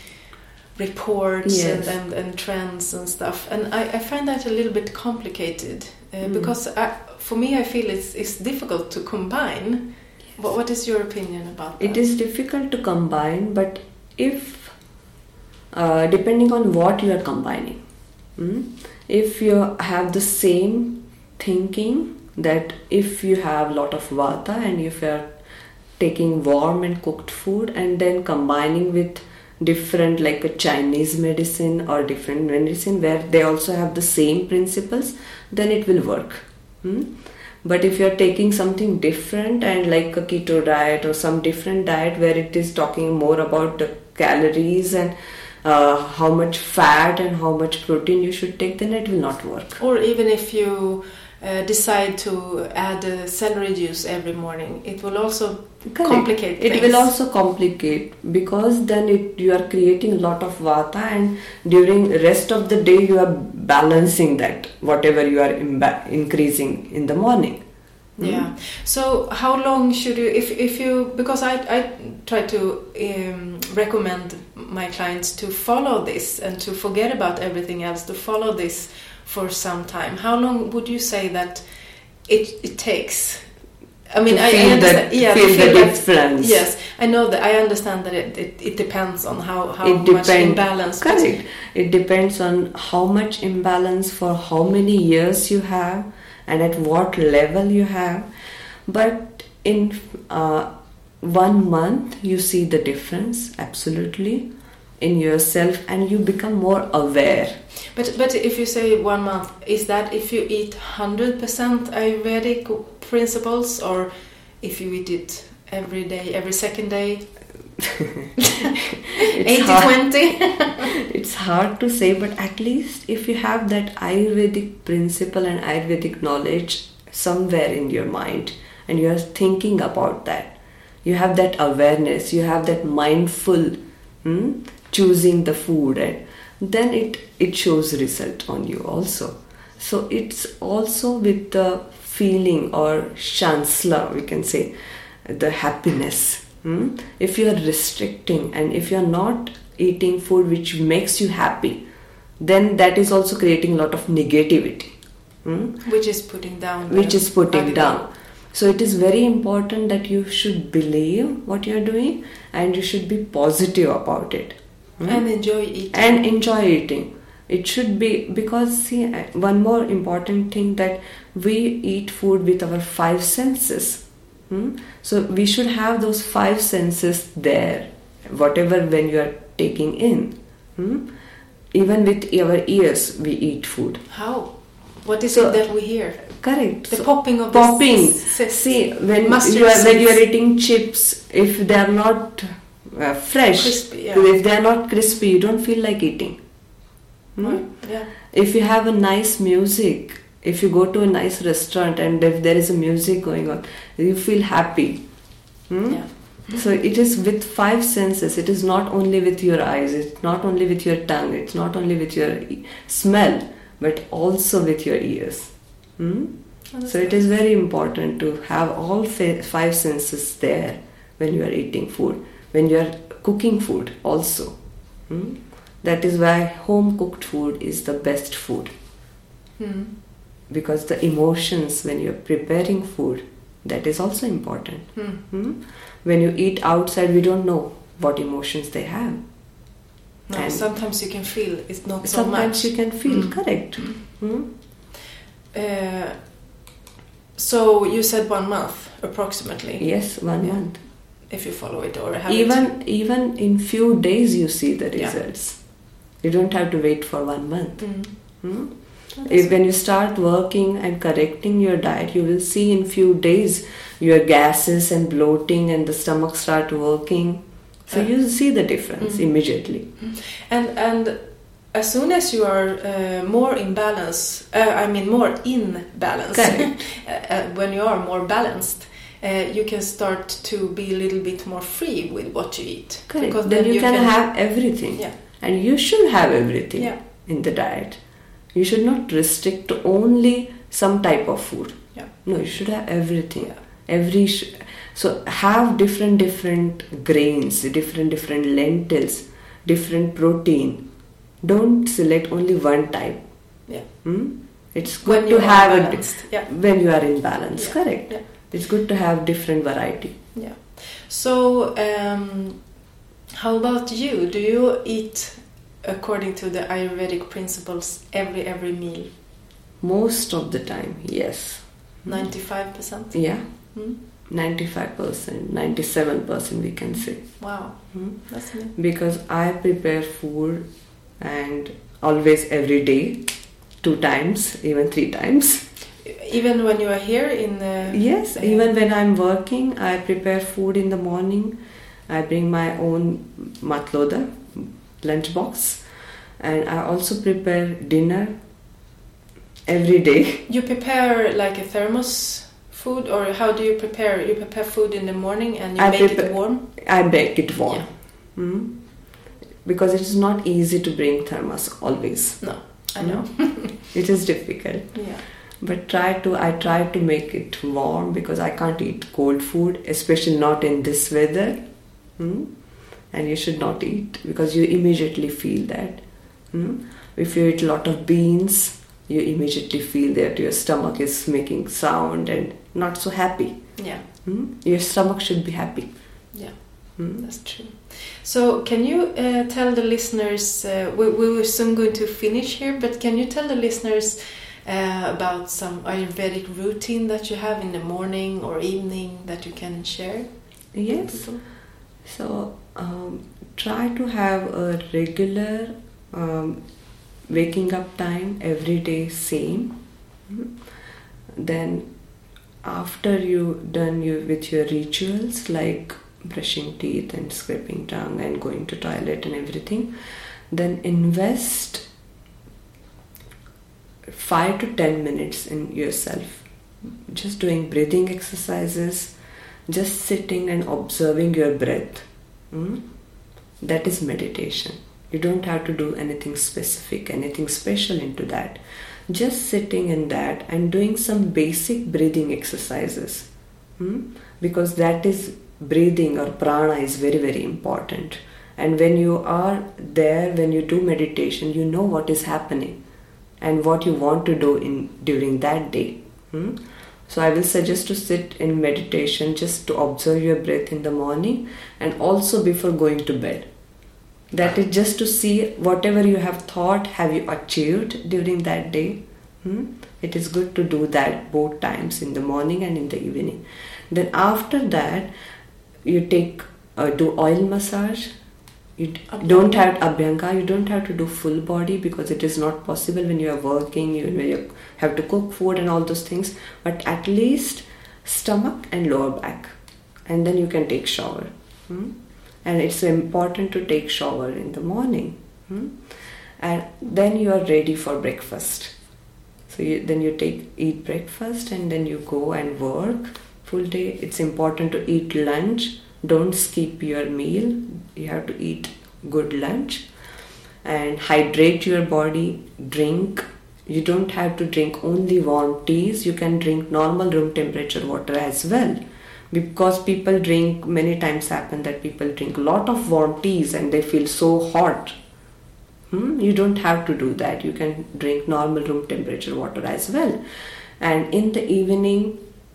reports yes. and, and, and trends and stuff. And I, I find that a little bit complicated uh, mm. because I, for me I feel it's, it's difficult to combine. Yes. What, what is your opinion about that? It is difficult to combine, but if Uh, depending on what you are combining. Mm? If you have the same thinking that if you have a lot of Vata and if you are taking warm and cooked food and then combining with different like a Chinese medicine or different medicine where they also have the same principles, then it will work. Mm? But if you are taking something different and like a keto diet or some different diet where it is talking more about the calories and Uh, how much fat and how much protein you should take, then it will not work. Or even if you uh, decide to add uh, celery juice every morning, it will also Correct. complicate it things. will also complicate because then it, you are creating a lot of Vata, and during rest of the day you are balancing that whatever you are imba- increasing in the morning. Yeah. So how long should you, if if you, because I I try to um, recommend my clients to follow this and to forget about everything else, to follow this for some time. How long would you say that it it takes? I mean, to I, feel I understand. That, yeah, feel to feel the that, difference. Yes, I know that. I understand that it it, it depends on how how it much depend, imbalance. Correct. It depends on how much imbalance for how many years you have and at what level you have. But in uh, one month you see the difference absolutely in yourself and you become more aware. But but if you say one month, is that if you eat one hundred percent Ayurvedic principles, or if you eat it every day, every second day? eighty twenty? It's hard to say, but at least if you have that Ayurvedic principle and Ayurvedic knowledge somewhere in your mind and you are thinking about that, you have that awareness, you have that mindful hmm, choosing the food, and then it, it shows result on you also. So it's also with the feeling or shansla, we can say, the happiness. Hmm? If you are restricting and if you are not eating food which makes you happy, then that is also creating a lot of negativity. Hmm? Which is putting down. Which is putting down. So it is very important that you should believe what you are doing and you should be positive about it. Hmm? And enjoy eating. And enjoy eating. It should be, because see, one more important thing, that we eat food with our five senses. Hmm? So we should have those five senses there, whatever when you are taking in. Hmm? Even with our ears we eat food. How? What is so, it that we hear? Correct. The so, popping of popping. the s- See, when you are when you are eating chips, if they are not uh, fresh, crispy, yeah. if they are not crispy, you don't feel like eating. Hmm? Right. Yeah. If you have a nice music, if you go to a nice restaurant and if there is a music going on, you feel happy. Hmm? Yeah. So it is with five senses. It is not only with your eyes, it's not only with your tongue, it's not only with your smell, but also with your ears. Hmm? Oh, so it is very important to have all five senses there when you are eating food, when you are cooking food also. Hmm? That is why home cooked food is the best food. Hmm. Because the emotions when you are preparing food, that is also important. Hmm. Hmm? When you eat outside, we don't know what emotions they have. No, and sometimes you can feel it's not so sometimes much. you can feel, Mm. correct. Mm. Uh, so you said one month approximately. Yes, one Yeah. month. If you follow it or have Even it. even in few days you see the Yeah. results. You don't have to wait for one month. Mm. Hmm? Oh, If when you start working and correcting your diet, you will see in few days your gases and bloating and the stomach start working. So Yeah. you see the difference Mm. immediately. And and as soon as you are uh, more in balance, uh, I mean more in balance, uh, when you are more balanced, uh, you can start to be a little bit more free with what you eat. Correct. Because then, then you, you can, can have everything. Yeah. And you should have everything yeah. in the diet. You should not restrict to only some type of food. Yeah. No, you should have everything. Yeah. Every sh- so have different different grains, different different lentils, different protein. Don't select only one type. Yeah. Hmm? It's good when to have balanced. a yeah. when you are in balance. Yeah. Correct. Yeah. It's good to have different variety. Yeah. So, um, how about you? Do you eat according to the Ayurvedic principles every every meal? Most of the time, yes. Ninety-five percent. Yeah. Hmm? Ninety-five percent, ninety-seven percent, we can say. Wow, Hmm? that's amazing. Because I prepare food and always every day, two times, even three times. Even when you are here in the... Yes, uh, even when I'm working, I prepare food in the morning. I bring my own matloda, lunchbox, and I also prepare dinner every day. You prepare like a thermos food, or how do you prepare? You prepare food in the morning and you I make prepare, it warm? I bake it warm. Yeah. Hmm? Because it is not easy to bring thermos always. No, I know. It is difficult. Yeah. But try to I try to make it warm because I can't eat cold food, especially not in this weather. Hmm? And you should not eat because you immediately feel that. Hmm? If you eat a lot of beans, you immediately feel that your stomach is making sound and not so happy. Yeah. Hmm? Your stomach should be happy. Yeah, Hmm? that's true. So can you uh, tell the listeners, uh, we, we were soon going to finish here, but can you tell the listeners uh, about some Ayurvedic routine that you have in the morning or evening that you can share? Yes. So um, try to have a regular um, waking up time every day, same. Mm. Then after you done you with your rituals like brushing teeth and scraping tongue and going to toilet and everything, then invest five to ten minutes in yourself, just doing breathing exercises, just sitting and observing your breath. Mm? That is meditation. You don't have to do anything specific, anything special into that. Just sitting in that and doing some basic breathing exercises. Mm? Because that is breathing or prana is very very important. And when you are there, when you do meditation, you know what is happening and what you want to do in during that day. Hmm? So I will suggest to sit in meditation just to observe your breath in the morning and also before going to bed. That is just to see whatever you have thought, have you achieved during that day. Hmm? It is good to do that both times, in the morning and in the evening. Then after that, you take uh, do oil massage. You Abhyanga. don't have abhyanga. You don't have to do full body because it is not possible when you are working. You, when you have to cook food and all those things. But at least stomach and lower back, and then you can take shower. Hmm? And it's important to take shower in the morning. Hmm? And then you are ready for breakfast. So you, then you take eat breakfast and then you go and work full day. It's important to eat lunch. Don't skip your meal. You have to eat good lunch and hydrate your body. Drink. You don't have to drink only warm teas. You can drink normal room temperature water as well. Because people drink, many times happen that people drink a lot of warm teas and they feel so hot. Hmm? You don't have to do that. You can drink normal room temperature water as well. And in the evening,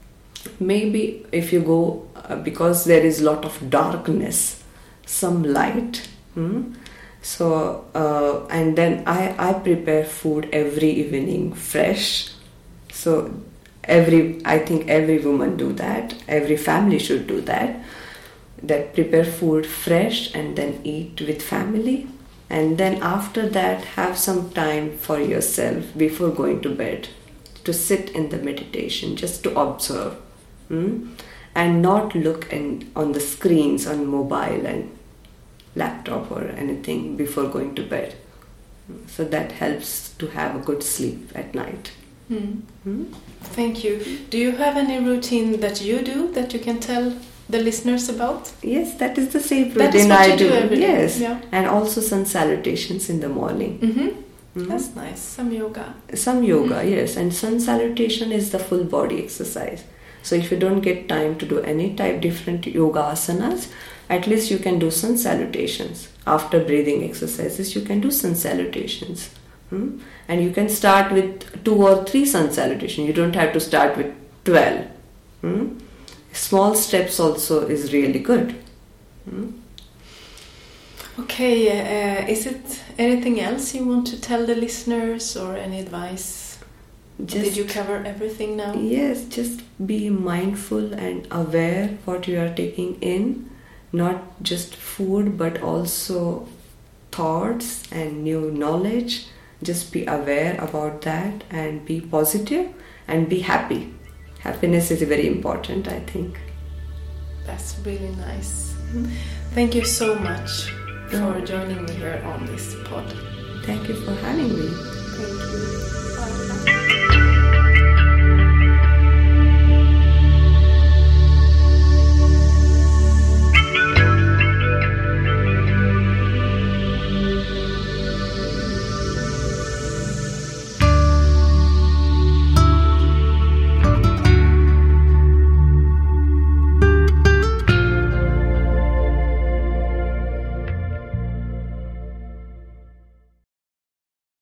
maybe if you go, uh, because there is a lot of darkness, some light. Hmm? So, uh, and then I, I prepare food every evening, fresh. So, every I think every woman do that. Every family should do that. That prepare food fresh and then eat with family. And then after that, have some time for yourself before going to bed to sit in the meditation, just to observe. Hmm? And not look in, on the screens on mobile and laptop or anything before going to bed. So that helps to have a good sleep at night. Mm. Mm? Thank you. Do you have any routine that you do that you can tell the listeners about? Yes, that is the same routine that is what I you do. do. Every day. Yes, yeah. And also sun salutations in the morning. Mm-hmm. Mm-hmm. That's nice. Some yoga. Some yoga, Mm-hmm. yes. And sun salutation is the full body exercise. So if you don't get time to do any type different yoga asanas, at least you can do sun salutations. After breathing exercises, you can do sun salutations. Hmm? And you can start with two or three sun salutations. You don't have to start with twelve. Hmm? Small steps also is really good. Hmm? Okay, uh, is it anything else you want to tell the listeners or any advice? Just, Did you cover everything now? Yes, just be mindful and aware what you are taking in. Not just food, but also thoughts and new knowledge. Just be aware about that and be positive and be happy. Happiness is very important, I think. That's really nice. Mm-hmm. Thank you so much for joining me here on this pod. Thank you for having me. Thank you. Bye.